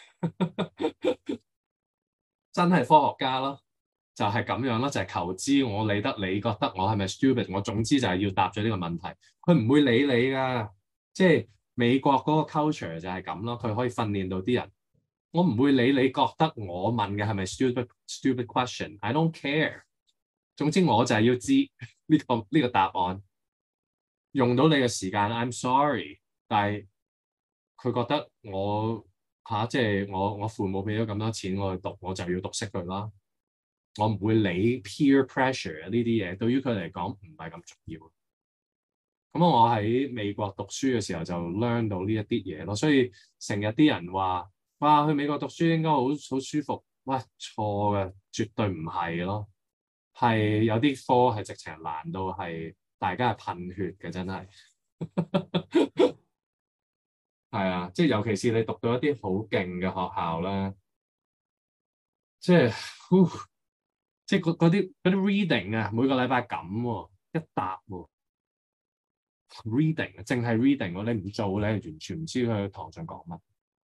真係科學家咯，就係咁樣咯，就係求知，我理得你覺得我係咪 stupid，我總之就係要答咗呢個問題，佢唔會理你㗎。即係美國嗰個 culture 就係咁咯，佢可以訓練到啲人。我唔會理你覺得我問嘅係咪 stupid question，I don't care。總之我就係要知呢個答案。用到你嘅時間，I'm sorry，但係佢覺得我即係我父母俾咗咁多錢我去讀，我就要讀識佢啦。我唔會理 peer pressure 呢啲嘢，對於佢嚟講唔係咁重要。咁我喺美國讀書嘅時候就 learn 到呢一啲嘢咯，所以成日啲人話哇去美國讀書應該好舒服，喂，錯嘅，絕對唔係咯，係有啲科係直情難到係大家係噴血嘅，真係。係啊，即係尤其是你讀到一啲好勁嘅學校咧，即係，即係嗰啲 reading 啊，每個禮拜咁喎，一沓喎，reading 淨係 reading 喎，你唔做你係完全唔知佢喺堂上講乜。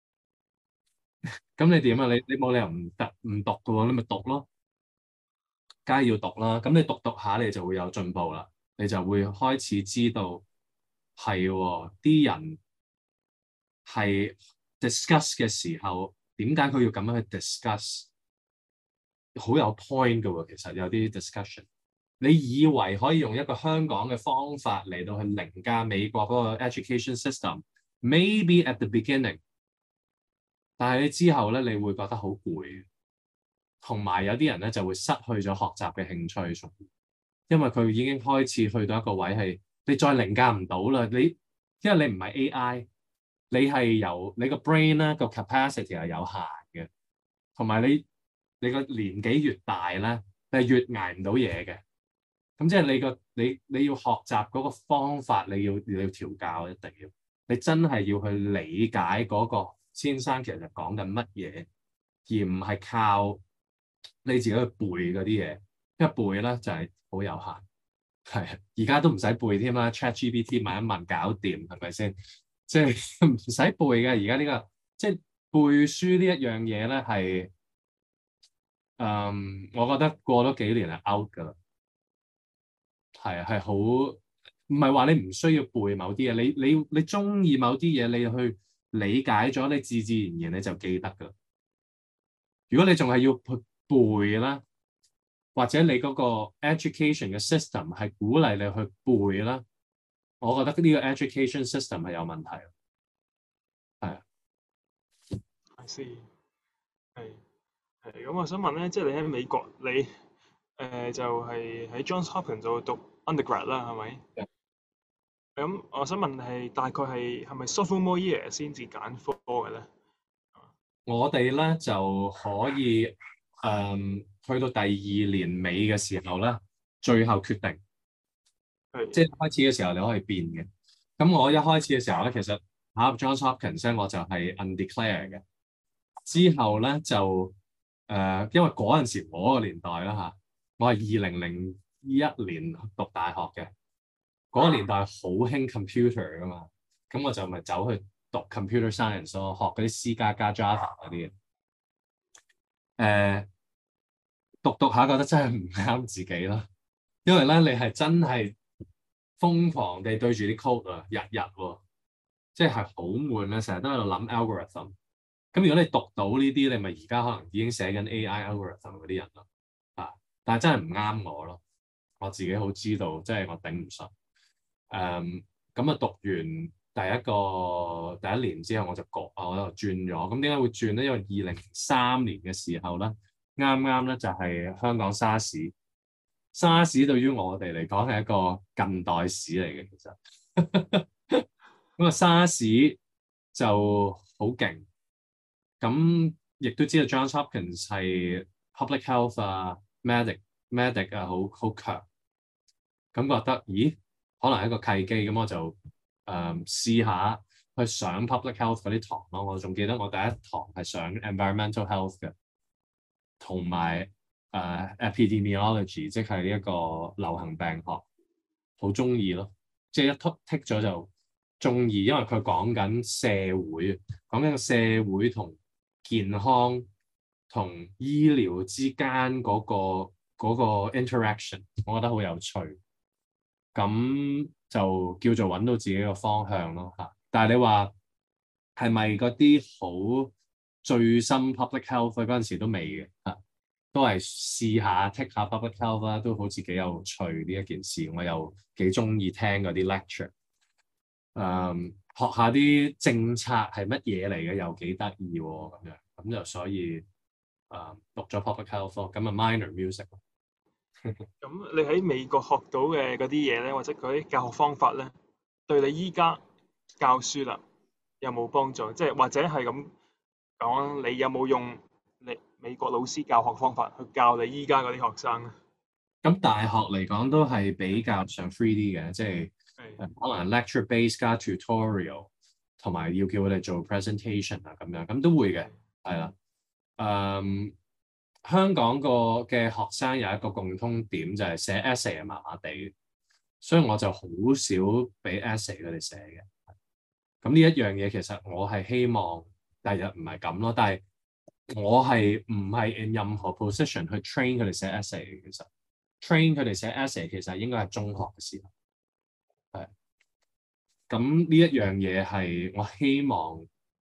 咁你點啊？你冇理由唔讀嘅喎，你咪讀咯，梗係要讀啦。咁你讀下，你就會有進步啦，你就會開始知道係喎，啲人係 discuss 嘅時候，點解佢要咁樣去 discuss？好有 point 嘅喎，其實有啲 discussion。你以為可以用一個香港嘅方法嚟到去凌駕美國嗰個 education system，maybe at the beginning， 但係你之後咧，你會覺得好攰，同埋有啲人咧就會失去咗學習嘅興趣，因為佢已經開始去到一個位係你再凌駕唔到啦。因為你唔係 AI，你係由你個 brain 咧個 capacity 係有限嘅，同埋你個年紀越大咧，你係越捱唔到嘢嘅。咁即係你要學習嗰個方法，你要調教，一定要你真係要去理解嗰個先生其實講緊乜嘢，而唔係靠你自己去背嗰啲嘢。因為背咧就係好有限，係而家都唔使背添啦，ChatGPT 問一問搞掂，係咪先？即係唔使背嘅。而家呢個即係背書呢一樣嘢咧，係我覺得過咗幾年係 out 㗎啦。係好，唔係話你唔需要背某啲嘢，你中意某啲嘢，你去理解咗，你自然你就記得㗎。如果你仲係要去背啦，或者你嗰個 education 嘅 system 係鼓勵你去背啦，我覺得呢個 education system 係有問題。係啊 I see，係咁，我想問咧，即係你喺美國，你就係喺 Johns Hopkins 度讀 undergrad 啦，係咪？咁我想問係大概係咪 sophomore year 先至揀科嘅咧？ 我哋咧就可以去到第二年尾嘅時候咧，最後決定。即係開始嘅時候你可以變嘅。咁我一開始嘅時候咧，其實考入 Johns Hopkins 咧，我就係 undeclare 嘅。之後咧就因為嗰陣時我個年代啦嚇，我係2001年讀大學嘅。嗰個年代好興 computer 噶嘛，咁我就咪走去讀 computer science 咯，學嗰啲 C 加加 Java 嗰啲嘢。讀下覺得真係唔啱自己啦，因為咧你係真係瘋狂地對住啲 code 啊，日喎，即係好悶啊，成日都喺度諗 algorithm。咁如果你讀到呢啲，你咪而家可能已經寫緊 AI algorithm 嗰啲人咯，但係真係唔啱我咯，我自己好知道，即係我頂唔順。咁讀完第一年之後我就轉咗。咁點解會轉咧？因為2003年嘅時候咧，啱啱咧就係香港沙士。沙士對於我哋嚟講係一個近代史嚟嘅，其實。咁啊，沙士就好勁。咁亦都知道 Johns Hopkins 係 public health 啊，medic 啊，好強。咁覺得，咦？可能係一個契機，咁我就試下去上 public health 嗰啲堂咯。我仲記得我第一堂係上 environmental health 嘅，同埋 epidemiology，即係呢一個流行病學，好中意咯。即係一剔咗就中意，因為佢講緊社會，講緊社會同健康同醫療之間嗰個 interaction，我覺得好有趣。咁就叫做揾到自己個方向咯嚇。但係你話係咪嗰啲好最深 public health 嗰陣時都未嘅嚇，都係試下 take 下 public health 啦，都好似幾有趣呢一件事。我又幾中意聽嗰啲 lecture，學下啲政策係乜嘢嚟嘅，又幾得意喎咁樣。咁就所以讀咗 public health 咁啊 minor music。 咁你喺美國學到嘅嗰啲嘢咧，或者嗰啲教學方法咧，對你依家教書啦有冇幫助？即係或者係咁講，你有冇用你美國老師教學方法去教你依家嗰啲學生咧？ 咁大學嚟講都係比較上 free 啲嘅，即係可能 lecture base 加 tutorial， 同埋要叫佢哋做 presentation 啊咁樣，咁都會嘅，係啦。香港嘅學生有一個共通點就係寫 essay 係麻麻地，所以我就好少俾 essay 佢哋寫嘅。咁呢一樣嘢其實我係希望第日唔係咁咯，但係我係唔係 in 任何 position 去 train 佢哋寫 essay 嘅。其實 train 佢哋寫 essay 其實應該係中學嘅時候，係。咁呢一樣嘢係我希望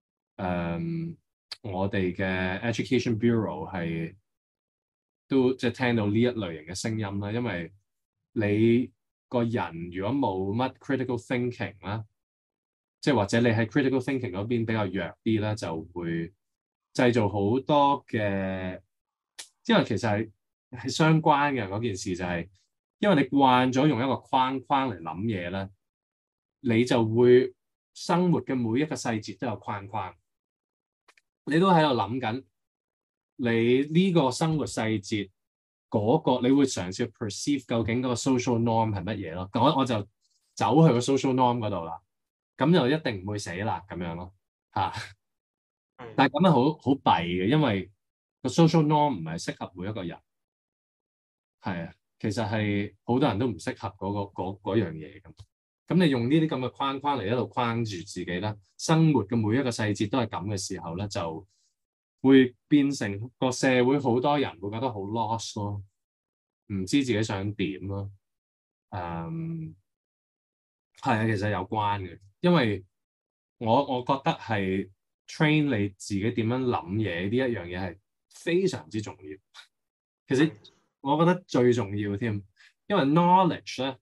我哋嘅 Education Bureau 係都即係聽到呢一類型嘅聲音啦，因為你個人如果冇乜 critical thinking 啦，即係或者你喺 critical thinking 嗰邊比較弱啲啦，就會製造好多嘅，因為其實係相關嘅嗰件事就係，因為你慣咗用一個框框嚟諗嘢咧，你就會生活嘅每一個細節都有框框，你都喺度諗緊。你呢個生活細節嗰個，你會嘗試 perceive 究竟嗰個 social norm 係乜嘢咯？我就走去個 social norm 嗰度啦，咁就一定唔會死啦咁樣咯嚇。但係咁樣好弊嘅，因為個 social norm 唔係適合每一個人，係啊，其實係好多人都唔適合嗰樣嘢咁。咁你用呢啲咁嘅框框嚟一路框住自己啦，生活嘅每一個細節都係咁嘅時候咧，就會變成個社會好多人會覺得好 lost 咯，唔知自己想點咯。係啊，其實有關嘅，因為我覺得係 train 你自己點樣諗嘢呢一樣嘢係非常之重要。其實我覺得最重要添，因為 knowledge 咧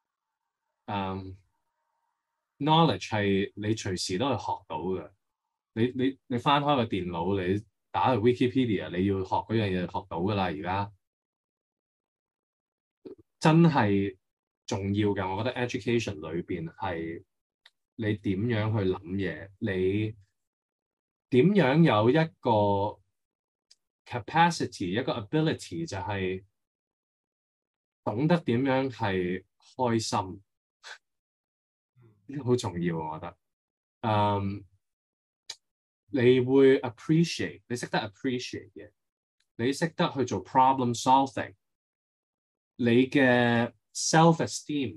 ，knowledge 係你隨時都係學到嘅。你翻開個電腦，你打去 Wikipedia，你要學嗰樣嘢學到㗎啦。而家真係重要嘅，我覺得 education 裏邊係你點樣去諗嘢，你點樣有一個 capacity， 一個 ability 就係懂得點樣係開心，呢個好重要，我覺得。你會 appreciate， 你識得 appreciate 嘅，你識得去做 problem solving， 你嘅 self-esteem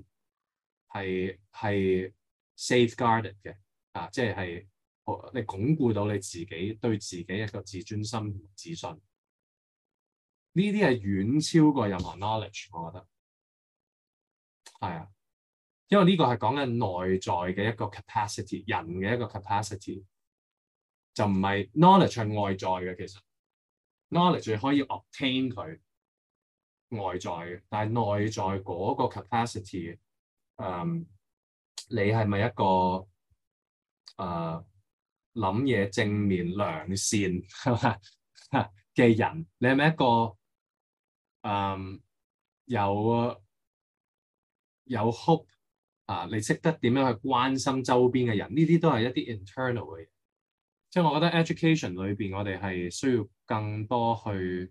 係 safeguarded 嘅，即係你鞏固到你自己對自己一個自尊心同自信，呢啲係遠超過任何 knowledge， 我覺得係啊，因為呢個係講緊內在嘅一個 capacity， 人嘅一個 capacity。就唔係 knowledge 係外在嘅，其實 knowledge 你可以 obtain 佢外在嘅，但係內在嗰個 capacity，你係咪一個諗嘢正面良善嘅人？你係咪一個有 hope 你識得點樣去關心周邊嘅人？呢啲都係一啲 internal 嘅嘢。即係我覺得 education 裏邊，我哋係需要更多去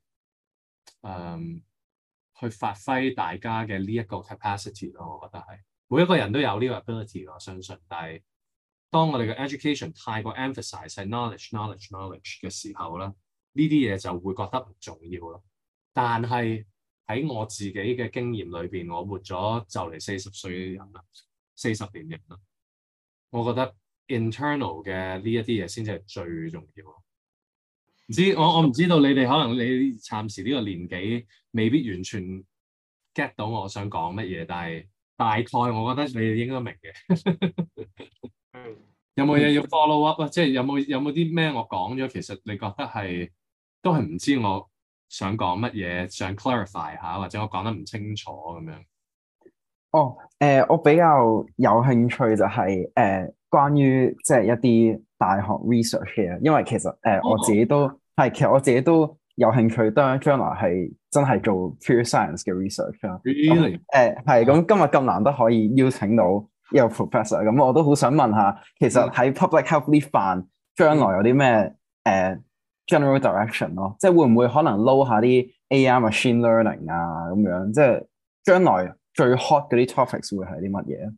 發揮大家嘅呢一個 capacity 咯。我覺得係每一個人都有呢個 ability， 我相信。但係當我哋嘅 education 太過 emphasize 係 knowledge 嘅時候咧，呢啲嘢就會覺得唔重要咯。 但係喺我自己嘅經驗裏邊，我活咗就嚟40歲嘅人啦，40年人啦，我覺得 internal 嘅呢一啲嘢先至係最重要。唔知我唔知道你哋可能你暫時呢個年紀未必完全 get 到我想講乜嘢，但係大概我覺得你哋應該明嘅。 係有冇嘢要 follow up 啊？即係有冇啲咩我講咗，其實你覺得係都係唔知我想講乜嘢，想 clarify 下，或者我講得唔清楚咁樣。 哦，我比較有興趣就係關於即係一啲大學 research 嘅，因為其實我自己都係，其實我自己都有興趣，當將來係真係做 pure science 嘅 research 啦。 Really？ 係咁，今日咁難得可以邀請到一個 professor，咁我都好想問下，其實喺 public health 呢範將來有啲咩general direction 咯？即係會唔會可能撈下啲 AI machine learning 啊咁樣？即係將來最 hot 嗰啲 topics 會係啲乜嘢？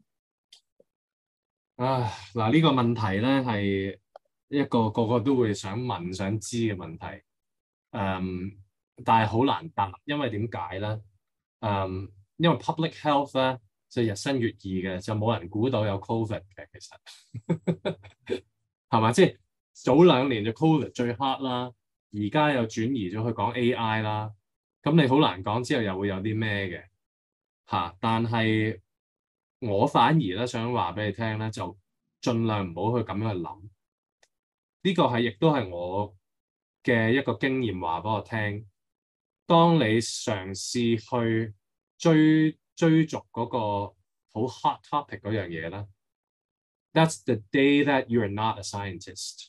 嗱呢個問題咧係一個個個都會想問、想知嘅問題。但係好難答，因為點解咧？因為 public health 咧就日新月異嘅，就冇人估到有 covid 嘅，其實係嘛？即係早2年就 covid 最 hot 啦，而家又轉移咗去講 AI 啦，咁你好難講之後又會有啲咩嘅嚇。但係我反而咧想話俾你聽咧，就盡量唔好去咁樣去諗。呢個係亦都係我嘅一個經驗話俾我聽。當你嘗試去追逐嗰個好 hot topic 嗰樣嘢咧，that's the day that you are not a scientist。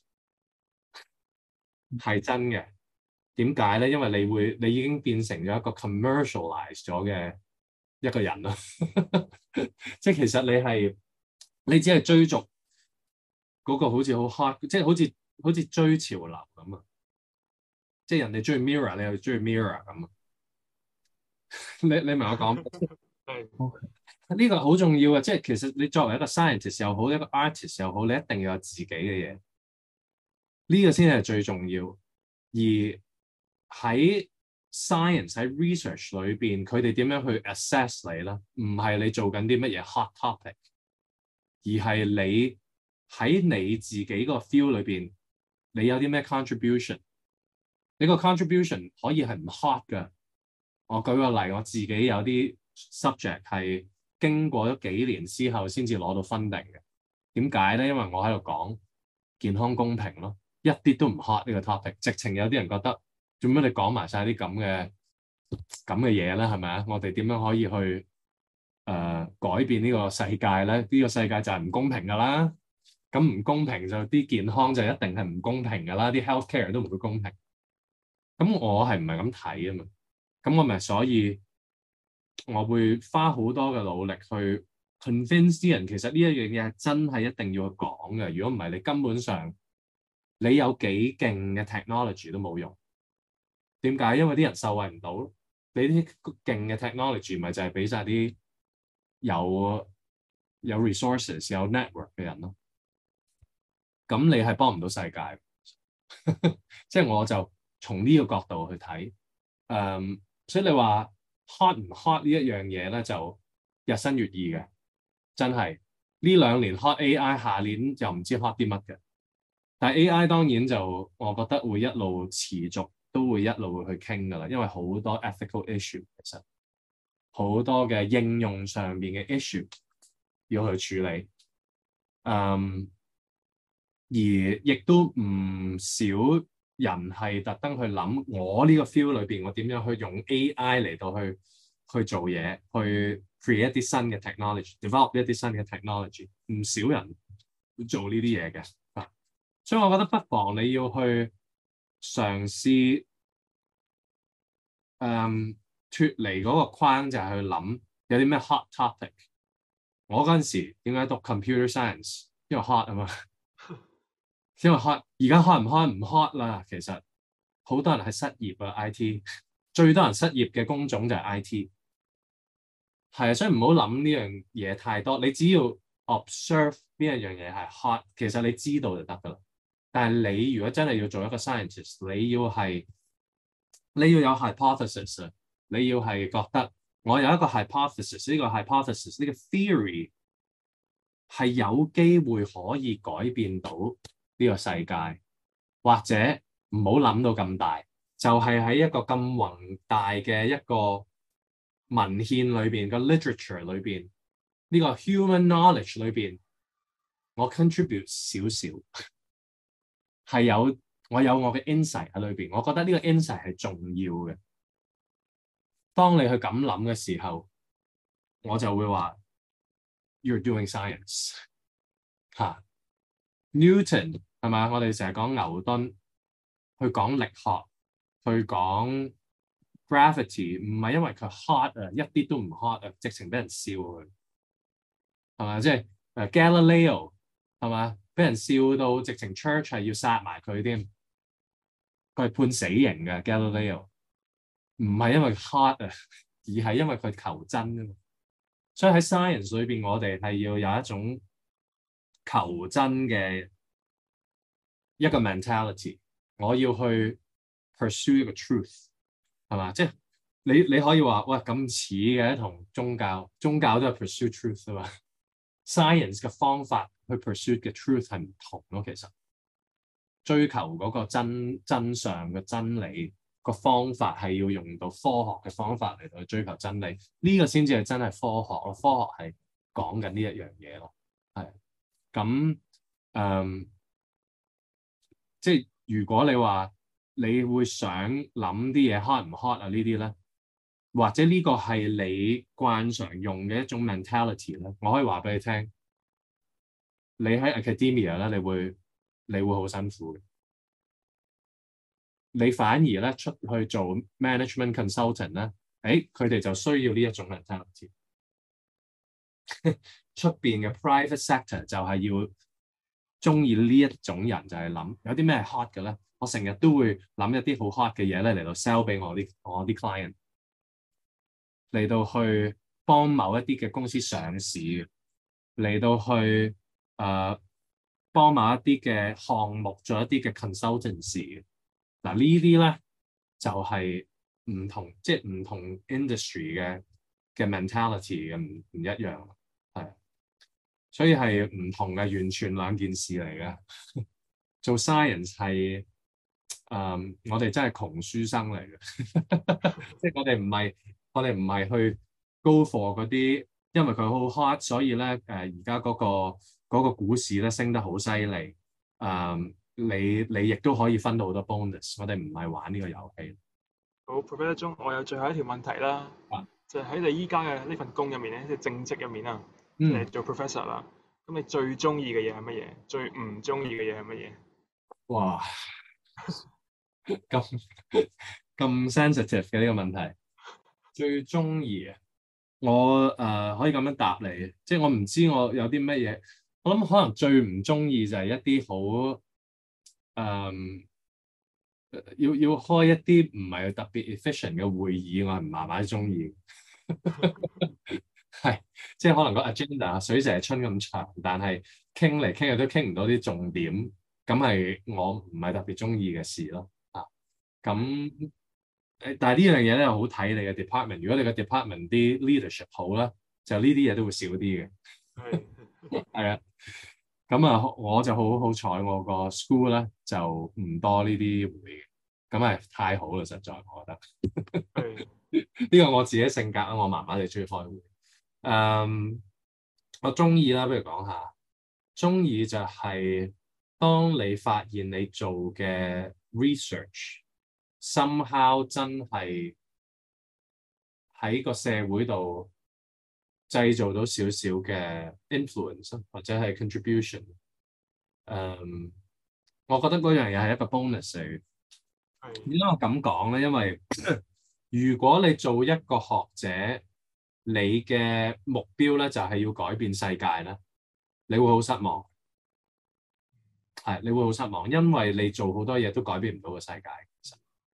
係真嘅。點解咧？因為你已經變成咗一個 commercialize 咗嘅一個人啦。即係其實你只係追逐嗰個好似好 hot，即係好似追潮流咁啊！即係人哋中意 Mirror， 你又中意 Mirror 咁啊！你明我講？ 係呢個好重要啊！即係其實你作為一個 scientist 又好，一個 artist 又好，你一定要有自己嘅嘢。呢個先係最重要。而喺 science 喺 research 裏邊，佢哋點樣去 assess 你咧？唔係你做緊啲乜嘢 hot topic，而係你喺你自己個 field 裏邊，你有啲咩 contribution？你個 contribution 可以係唔 hot 㗎。我舉個例，我自己有啲 subject 係經過咗幾年之後先至攞到 funding 嘅。點解咧？因為我喺度講健康公平咯，一啲都唔 hot 呢個 topic。直情有啲人覺得做咩你講埋晒啲咁嘅嘢咧？係咪啊？我哋點樣可以去改變呢個世界咧？呢個世界就係唔公平㗎啦。咁唔公平就啲健康就一定係唔公平㗎啦。啲 healthcare 都唔會公平。咁我係唔係咁睇啊嘛？咁我咪所以我會花好多嘅努力去 convince 啲人，其實呢一樣嘢係真係一定要去講嘅。如果唔係，你根本上你有幾勁嘅 technology 都冇用。點解？因為啲人受惠唔到。你啲勁嘅 technology 咪就係俾晒啲有 resources 有 network 嘅人咯。咁你係幫唔到世界。即係我就從呢個角度去睇。所以你話 hot 唔 hot 呢一樣嘢咧，就日新月異嘅，真係呢2年 hot AI， 下年又唔知 hot 啲乜嘅。但係 AI 當然就我覺得會一路持續，都會一路去傾㗎啦，因為好多 ethical issue， 其實好多嘅應用上邊嘅 issue 要去處理。而亦都唔少人係特登去諗，我呢個 field 裏邊，我點樣去用 AI 嚟到去做嘢，去 create 一啲新嘅 technology，develop 一啲新嘅 technology。唔少人會做呢啲嘢嘅，所以我覺得不妨你要去嘗試脫離嗰個框，就係去諗有啲咩 hot topic。我嗰陣時點解讀 computer science？ 因為 hot 啊嘛。因為 hot， 而家 hot 唔 hot 唔 hot 啦，其實好多人係失業啊 IT， 最多人失業嘅工種就係 IT， 係啊，所以唔好諗呢樣嘢太多，你只要 observe 呢一樣嘢係 hot， 其實你知道就得噶啦。但係你如果真係要做一個 scientist， 你要係你要有 hypothesis 啊，你要係覺得我有一個 hypothesis，呢個 hypothesis 呢個 theory 係有機會可以改變到呢個世界，或者唔好諗到咁大，就係喺一個咁宏大嘅一個文獻裏邊個 literature 裏邊呢個 human knowledge 裏邊，我 contribute 少少，係有我有我嘅 insight 喺裏邊，我覺得呢個 insight 係重要嘅。當你去咁諗嘅時候，我就會話 You're doing science 嚇。Newton 係嘛？我哋成日講牛頓，去講力學，去講 gravity，唔係因為佢 hot 啊，一啲都唔 hot 啊，直情俾人笑佢係嘛？即係Galileo 係嘛？俾人笑到直情 church 係要殺埋佢添，佢係判死刑嘅 Galileo，唔係因為 hot 啊，而係因為佢求真啊嘛。所以喺 science 裏邊，我哋係要有一種求真嘅一個 mentality，我要去 pursue 一個 truth 係嘛？即係你可以話喂咁似嘅同宗教都係 pursue truth 啊嘛。Science 嘅方法去 pursue 嘅 truth 係唔同咯，其實追求嗰個真相嘅真理個方法係要用到科學嘅方法嚟到去追求真理，呢個先至係真係科學咯。科學係講緊呢一樣嘢咯，係咁即係如果你話你會想諗啲嘢 hot 唔 hot 啊呢啲咧，或者呢個係你慣常用嘅一種 mentality 咧，我可以話俾你聽，你喺 academia 咧，你會好辛苦嘅。你反而咧出去做 management consultant 咧，佢哋就需要呢一種 mentality。出邊嘅 private sector 就係要中意呢一種人，就係諗有啲咩 hot 嘅咧，我成日都會諗一啲好 hot 嘅嘢咧嚟到 sell 俾我啲 client，嚟到去幫某一啲嘅公司上市，嚟到去幫某一啲嘅項目做一啲嘅 consultancy。嗱呢啲咧就係唔同，即係唔同 industry 嘅 mentality 嘅唔一樣，係，所以係唔同嘅，完全兩件事嚟嘅。做 science 係我哋真係窮書生嚟嘅，即係我哋唔係去 go for 嗰啲，因為佢好 hot，所以咧而家嗰個股市咧升得好犀利。你亦都可以分到好多 bonus，我哋唔係玩呢個遊戲。 好 Professor 鐘，我有最後一條問題啦，就係喺你依家嘅呢份工入面咧，即係正職入面啊，即係做 professor 啦。咁你最中意嘅嘢係乜嘢？最唔中意嘅嘢係乜嘢？ 哇，咁 sensitive 嘅呢個問題，最中意啊！我可以咁樣答你，即係我唔知我有啲乜嘢，我諗可能最唔中意就係一啲好要開一啲唔係特別 efficient 嘅會議，我係唔麻麻中意。係，即係可能個 agenda 水蛇春咁長，但係傾嚟傾去都傾唔到啲重點，咁係我唔係特別中意嘅事咯。咁但係呢樣嘢咧，好睇你嘅 department。如果你嘅 department 啲 leadership 好啦，就呢啲嘢都會少啲嘅。係啊，咁啊，我就好彩，我個 school 咧就唔多呢啲會嘅，咁係太好啦，實在我覺得。呢個我自己性格啦，我麻麻地中意開會。我中意啦，不如講下，中意就係當你發現你做嘅 research somehow 真係喺個社會度製造到少少嘅 influence 或者係 contribution。我覺得嗰樣嘢係一個 bonus 嚟嘅。點解我咁講咧？因為如果你做一個學者，你嘅目標咧就係要改變世界咧，你會好失望。係，你會好失望，因為你做好多嘢都改變唔到個世界。其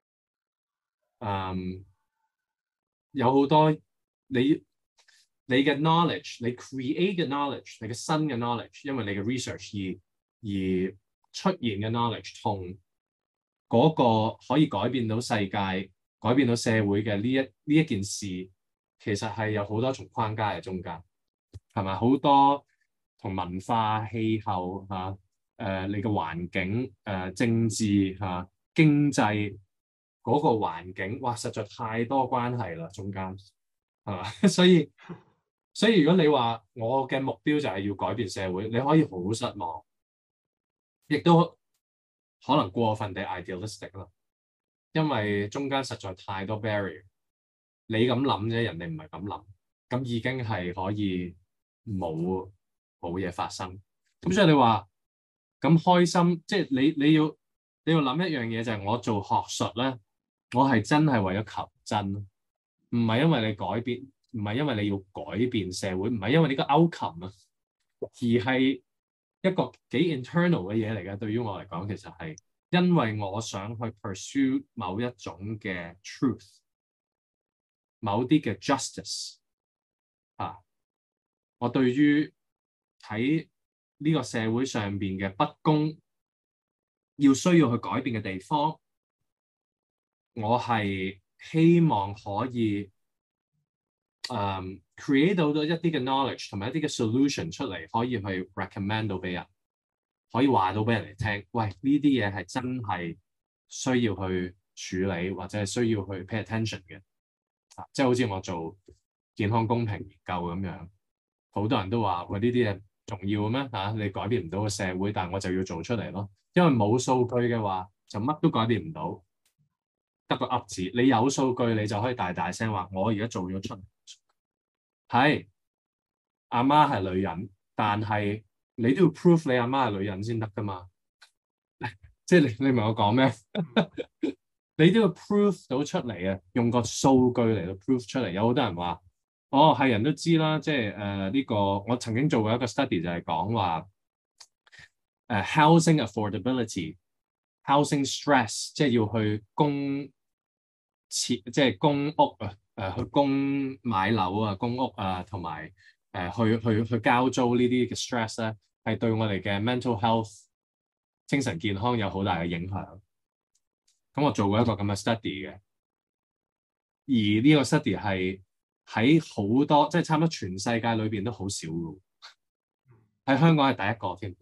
實，有好多你嘅 knowledge，你 create 嘅 knowledge，你嘅新嘅 knowledge，因為你嘅 research 而出現嘅 knowledge 同嗰個可以改變到世界改變到社會嘅呢一件事，其實係有好多重框架喺中間，係咪？好多同文化、氣候嚇、你嘅環境、政治嚇、經濟嗰個環境，哇！實在太多關係啦，中間係嘛？所以如果你話我嘅目標就係要改變社會，你可以好失望，亦都可能過分地 idealistic 啦，因為中間實在太多 barrier。你咁諗啫，人哋唔係咁諗，咁已經係可以冇嘢發生。咁所以你話咁開心，即係你要諗一樣嘢，就係我做學術咧，我係真係為咗求真，唔係因為你改變，唔係因為你要改變社會，唔係因為呢個 outcome 啊，而係一個幾 internal 嘅嘢嚟嘅。對於我嚟講，其實係因為我想去 pursue 某一種嘅 truth。某啲嘅 justice 我對於喺呢個社會上邊嘅不公，需要去改變嘅地方，我係希望可以create 到一啲嘅 knowledge 同埋一啲嘅 solution 出嚟，可以去 recommend 到俾人，可以話到俾人哋聽，喂，呢啲嘢係真係需要去處理或者係需要去 pay attention 嘅。即係好似我做健康公平研究咁樣，好多人都話：喂，呢啲嘢重要嘅咩？你改變唔到個社會，但係我就要做出嚟咯。因為冇數據嘅話，就乜都改變唔到，得個噏字。你有數據，你就可以大大聲話：我而家做咗出嚟。係阿媽係女人，但係你都要 prove 你阿媽係女人先得㗎嘛。即係你明我講咩？你都要 prove 到出嚟啊！用個數據嚟到 prove 出嚟。有好多人話：哦，係人都知啦。即係呢個，我曾經做過一個 study 就係講話housing affordability、housing stress，即係要去即係供屋去買樓啊、供屋啊，同埋去交租呢啲嘅 stress 咧，係對我哋嘅 mental health 精神健康有好大嘅影響。咁我做過一個咁嘅 study 嘅，而呢個 study 係喺好多即係差唔多全世界裏邊都好少嘅，喺香港係第一個添。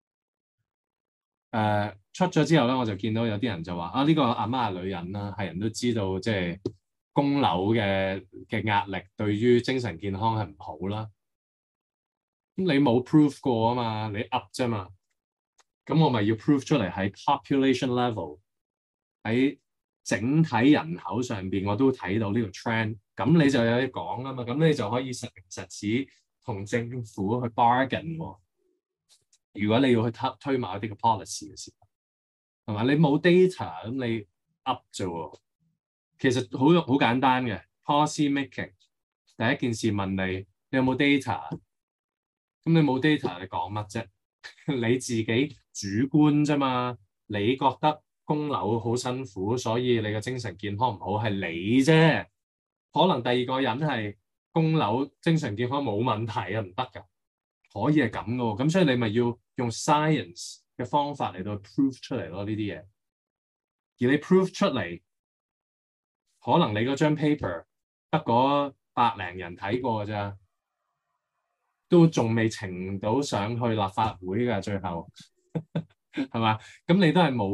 出咗之後咧，我就見到有啲人就話：呢個阿媽係女人啦，係人都知道，即係供樓嘅壓力對於精神健康係唔好啦。咁你冇 prove 過啊嘛，你 up 啫嘛。咁我咪要 prove 出嚟喺 population level。喺整體人口上邊，我都睇到呢個 trend，咁你就有嘢講啊嘛，咁你就可以實名實齒同政府去 bargain 喎。如果你要去推某一啲嘅 policy 嘅時候，係嘛？你冇 data，咁你 up 啫喎。其實好簡單嘅 policy making，第一件事問你有冇 data？ 咁你冇 data， 你講乜啫？你自己主觀啫嘛，你覺得供樓好辛苦，所以你嘅精神健康唔好，係你啫。可能第二個人係供樓精神健康冇問題啊，唔得㗎，可以係咁嘅喎。咁所以你咪要用 science 嘅方法嚟到 prove 出嚟咯，呢啲嘢。而你 prove 出嚟，可能你嗰張 paper 得嗰100零人睇過㗎咋，都仲未呈到上去立法會㗎，最後係嘛？咁你都係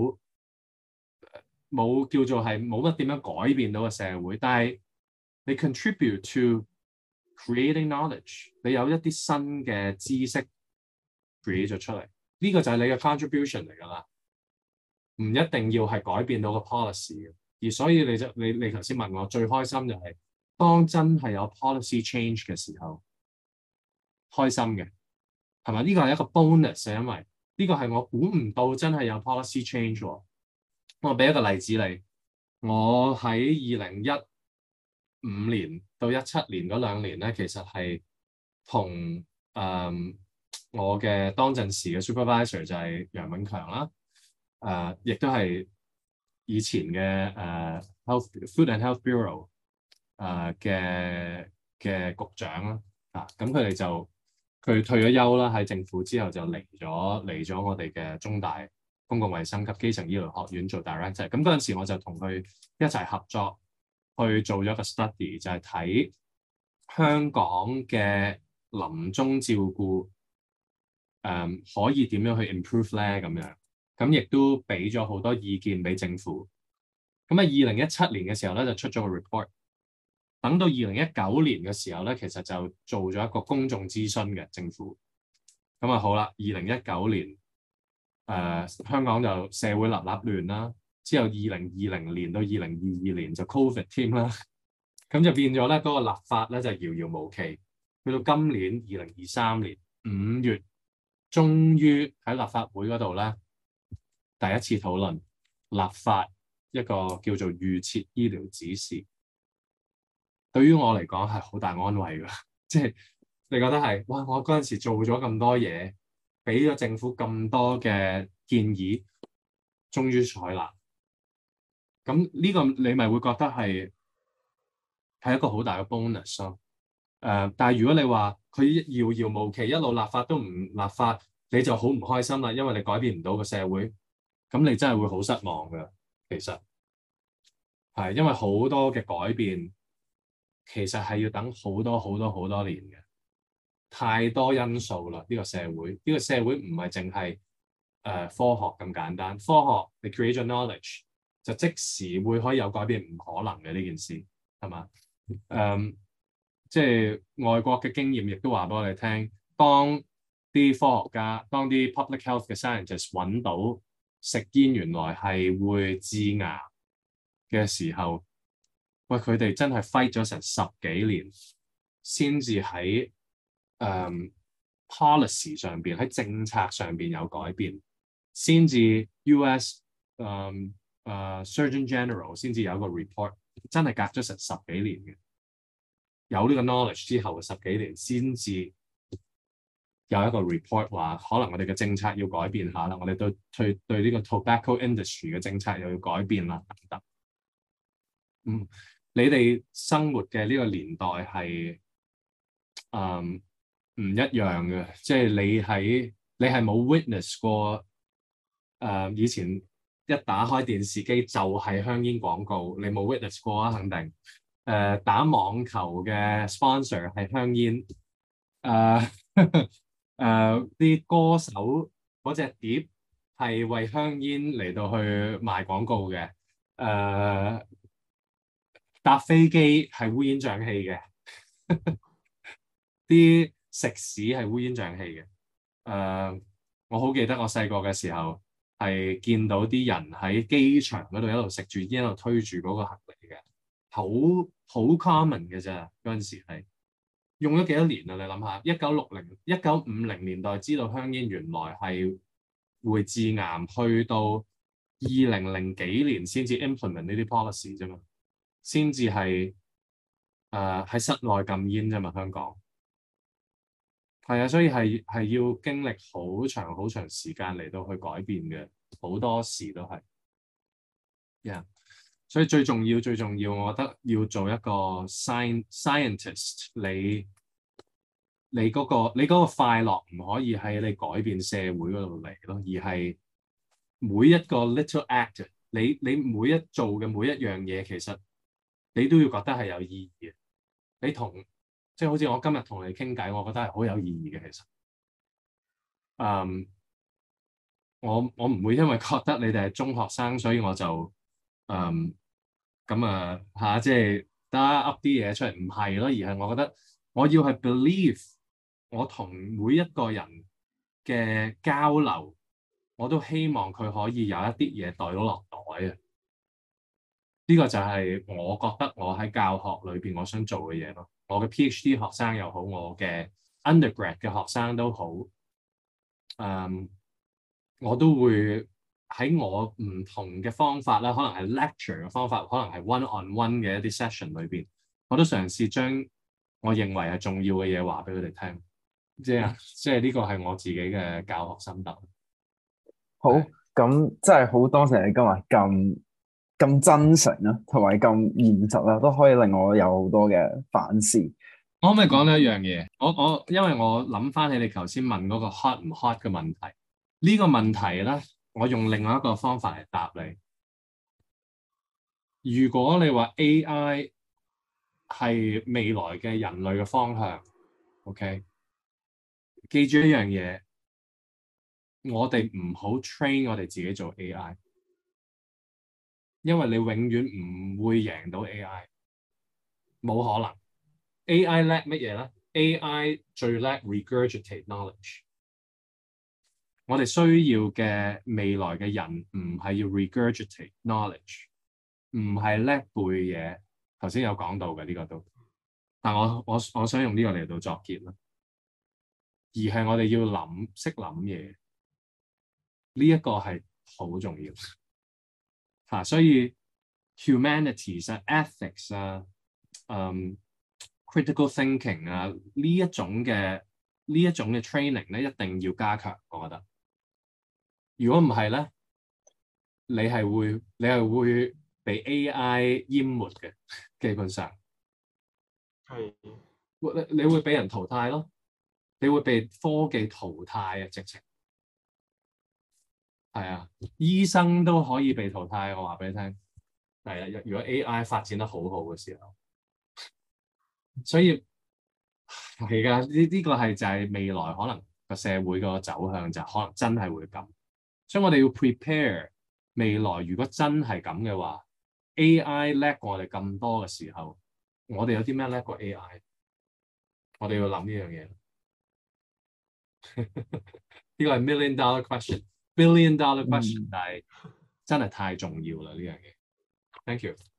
冇叫做係冇乜點樣改變到個社會，但係你 contribute to creating knowledge， 你有一啲新嘅知識 create 咗出嚟，呢個就係你嘅 contribution 嚟㗎啦，唔一定要係改變到個 policy 嘅。而所以你頭先問我最開心就係當真係有 policy change 嘅時候，開心嘅係咪？呢個係一個 bonus， 因為呢個係我估唔到真係有 policy change 喎。我俾一個例子你，我喺2015年到17年嗰2年咧，其實係同我嘅當陣時嘅 supervisor 就係楊永強啦，亦都係以前嘅Food and Health Bureau 嘅局長啦，咁佢退咗休啦，喺政府之後就嚟咗我哋嘅中大公共衛生及基層醫療學院做 director。咁嗰陣時我就同佢一齊合作去做咗一個 study，就係睇香港嘅臨終照顧可以點樣去 improve 咧咁樣，咁亦都俾咗好多意見俾政府。咁喺2017年嘅時候咧就出咗個 report，等到2019年嘅時候咧其實就做咗一個公眾諮詢嘅政府。咁啊好啦，2019年香港就社會立立亂啦，之後2020年到2022年就 Covid 添啦，咁就變咗咧嗰個立法咧就遙遙無期，去到今年2023年5月，終於喺立法會嗰度咧第一次討論立法一個叫做預設醫療指示。對於我嚟講係好大安慰㗎，即係你覺得係哇，我嗰陣時做咗咁多嘢，俾咗政府咁多嘅建議，終於採納。咁呢個你咪會覺得係一個好大嘅 bonus 咯。但係如果你話佢遙遙無期，一路立法都唔立法，你就好唔開心啦，因為你改變唔到個社會，咁你真係會好失望㗎。其實係因為好多嘅改變，其實係要等好多好多年嘅，太多因素啦。呢個社會唔係淨係科學咁簡單。科學你 create 咗 knowledge 就即時會可以有改變，唔可能嘅呢件事係嘛？即係外國嘅經驗亦都話俾我哋聽，當啲科學家、當啲 public health 嘅 scientists 揾到食煙原來係會致癌嘅時候，喂，佢哋真係 fight 咗成10幾年，先至喺policy 上邊，喺政策上邊有改變，先至 US Surgeon General 先至有一個 report， 真係隔咗成10幾年嘅。有呢個 knowledge 之後嘅10幾年，先至有一個 report 話，可能我哋嘅政策要改變下啦，我哋對呢個 tobacco industry 嘅政策又要改變啦，等等。你哋生活嘅呢個年代係唔一樣嘅，即係你係冇 witness 過以前一打開電視機就係香煙廣告，你冇 witness 過啊，肯定。打網球嘅 sponsor 係香煙，啲歌手嗰隻碟係為香煙嚟到去賣廣告嘅，搭飛機係烏煙瘴氣嘅，啲食肆係烏煙瘴氣嘅。我好記得我細個嘅時候係見到啲人喺機場嗰度一路食住煙，一路推住嗰個行李嘅。好 common 嘅咋，嗰陣時係用咗幾多年啊？你諗下，1950年代知道香煙原來係會致癌，去到2000幾年先至 implement 呢啲 policy 啫嘛，先至係喺室內禁煙啫嘛。香港係啊，所以係要經歷好長時間嚟到去改變嘅，好多時都係，yeah。所以最重要，我覺得要做一個 scientist， 你嗰個快樂唔可以喺你改變社會嗰度嚟咯，而係每一個 little act， 你每一做嘅每一樣嘢，其實你都要覺得係有意義嘅。你即係好似我今日同你傾偈，我覺得係好有意義嘅。其實，我唔會因為覺得你哋係中學生，所以我就即係得噏啲嘢出嚟，唔係咯，而係我覺得我要係 believe 我同每一個人嘅交流，我都希望佢可以有一啲嘢袋到落袋啊！呢個就係我覺得我喺教學裏邊我想做嘅嘢咯。我嘅 PhD 學生又好，我嘅 undergrad 嘅學生都好，我都會喺我唔同嘅方法啦，可能係 lecture 嘅方法，可能係 one-on-one 嘅一啲 session 裏邊，我都嘗試將我認為係重要嘅嘢話俾佢哋聽。即係呢個係我自己嘅教學心得。 好，咁真係好多謝你今日咁真誠啦，同埋咁現實啦，都可以令我有好多嘅反思。 我可唔可以講呢一樣嘢？因為我諗翻起你頭先問嗰個 hot 唔 hot 嘅問題，呢個問題咧，我用另外一個方法嚟答你。 如果你話 AI 係未來嘅人類嘅方向，OK，記住一樣嘢，我哋唔好 train 我哋自己做 AI，因為你永遠唔會贏到 AI，冇可能。AI 叻乜嘢咧？AI 最叻 regurgitate knowledge。我哋需要嘅未來嘅人唔係要 regurgitate knowledge，唔係叻背嘢。頭先有講到嘅呢個都，但我想用呢個嚟到作結啦，而係我哋要識諗嘢，呢一個係好重要嚇。所以 humanities 啊、ethics 啊、critical thinking 啊呢一種嘅 training 咧，一定要加強，我覺得。如果唔係咧，你係會被 AI 淹沒嘅，基本上係你會俾人淘汰咯，你會被科技淘汰啊！直情係啊，醫生都可以被淘汰，我話俾你聽。係啊，如果 AI 發展得好好嘅時候，所以係㗎，呢個係就係未來可能個社會個走向就可能真係會咁，所以我哋要 prepare 未來。如果真係咁嘅話，AI 叻過我哋咁多嘅時候，我哋有啲咩叻過 AI？我哋要諗呢樣嘢。呢個係 million-dollar question，billion-dollar question，但係真係太重要啦呢樣嘢。Thank you。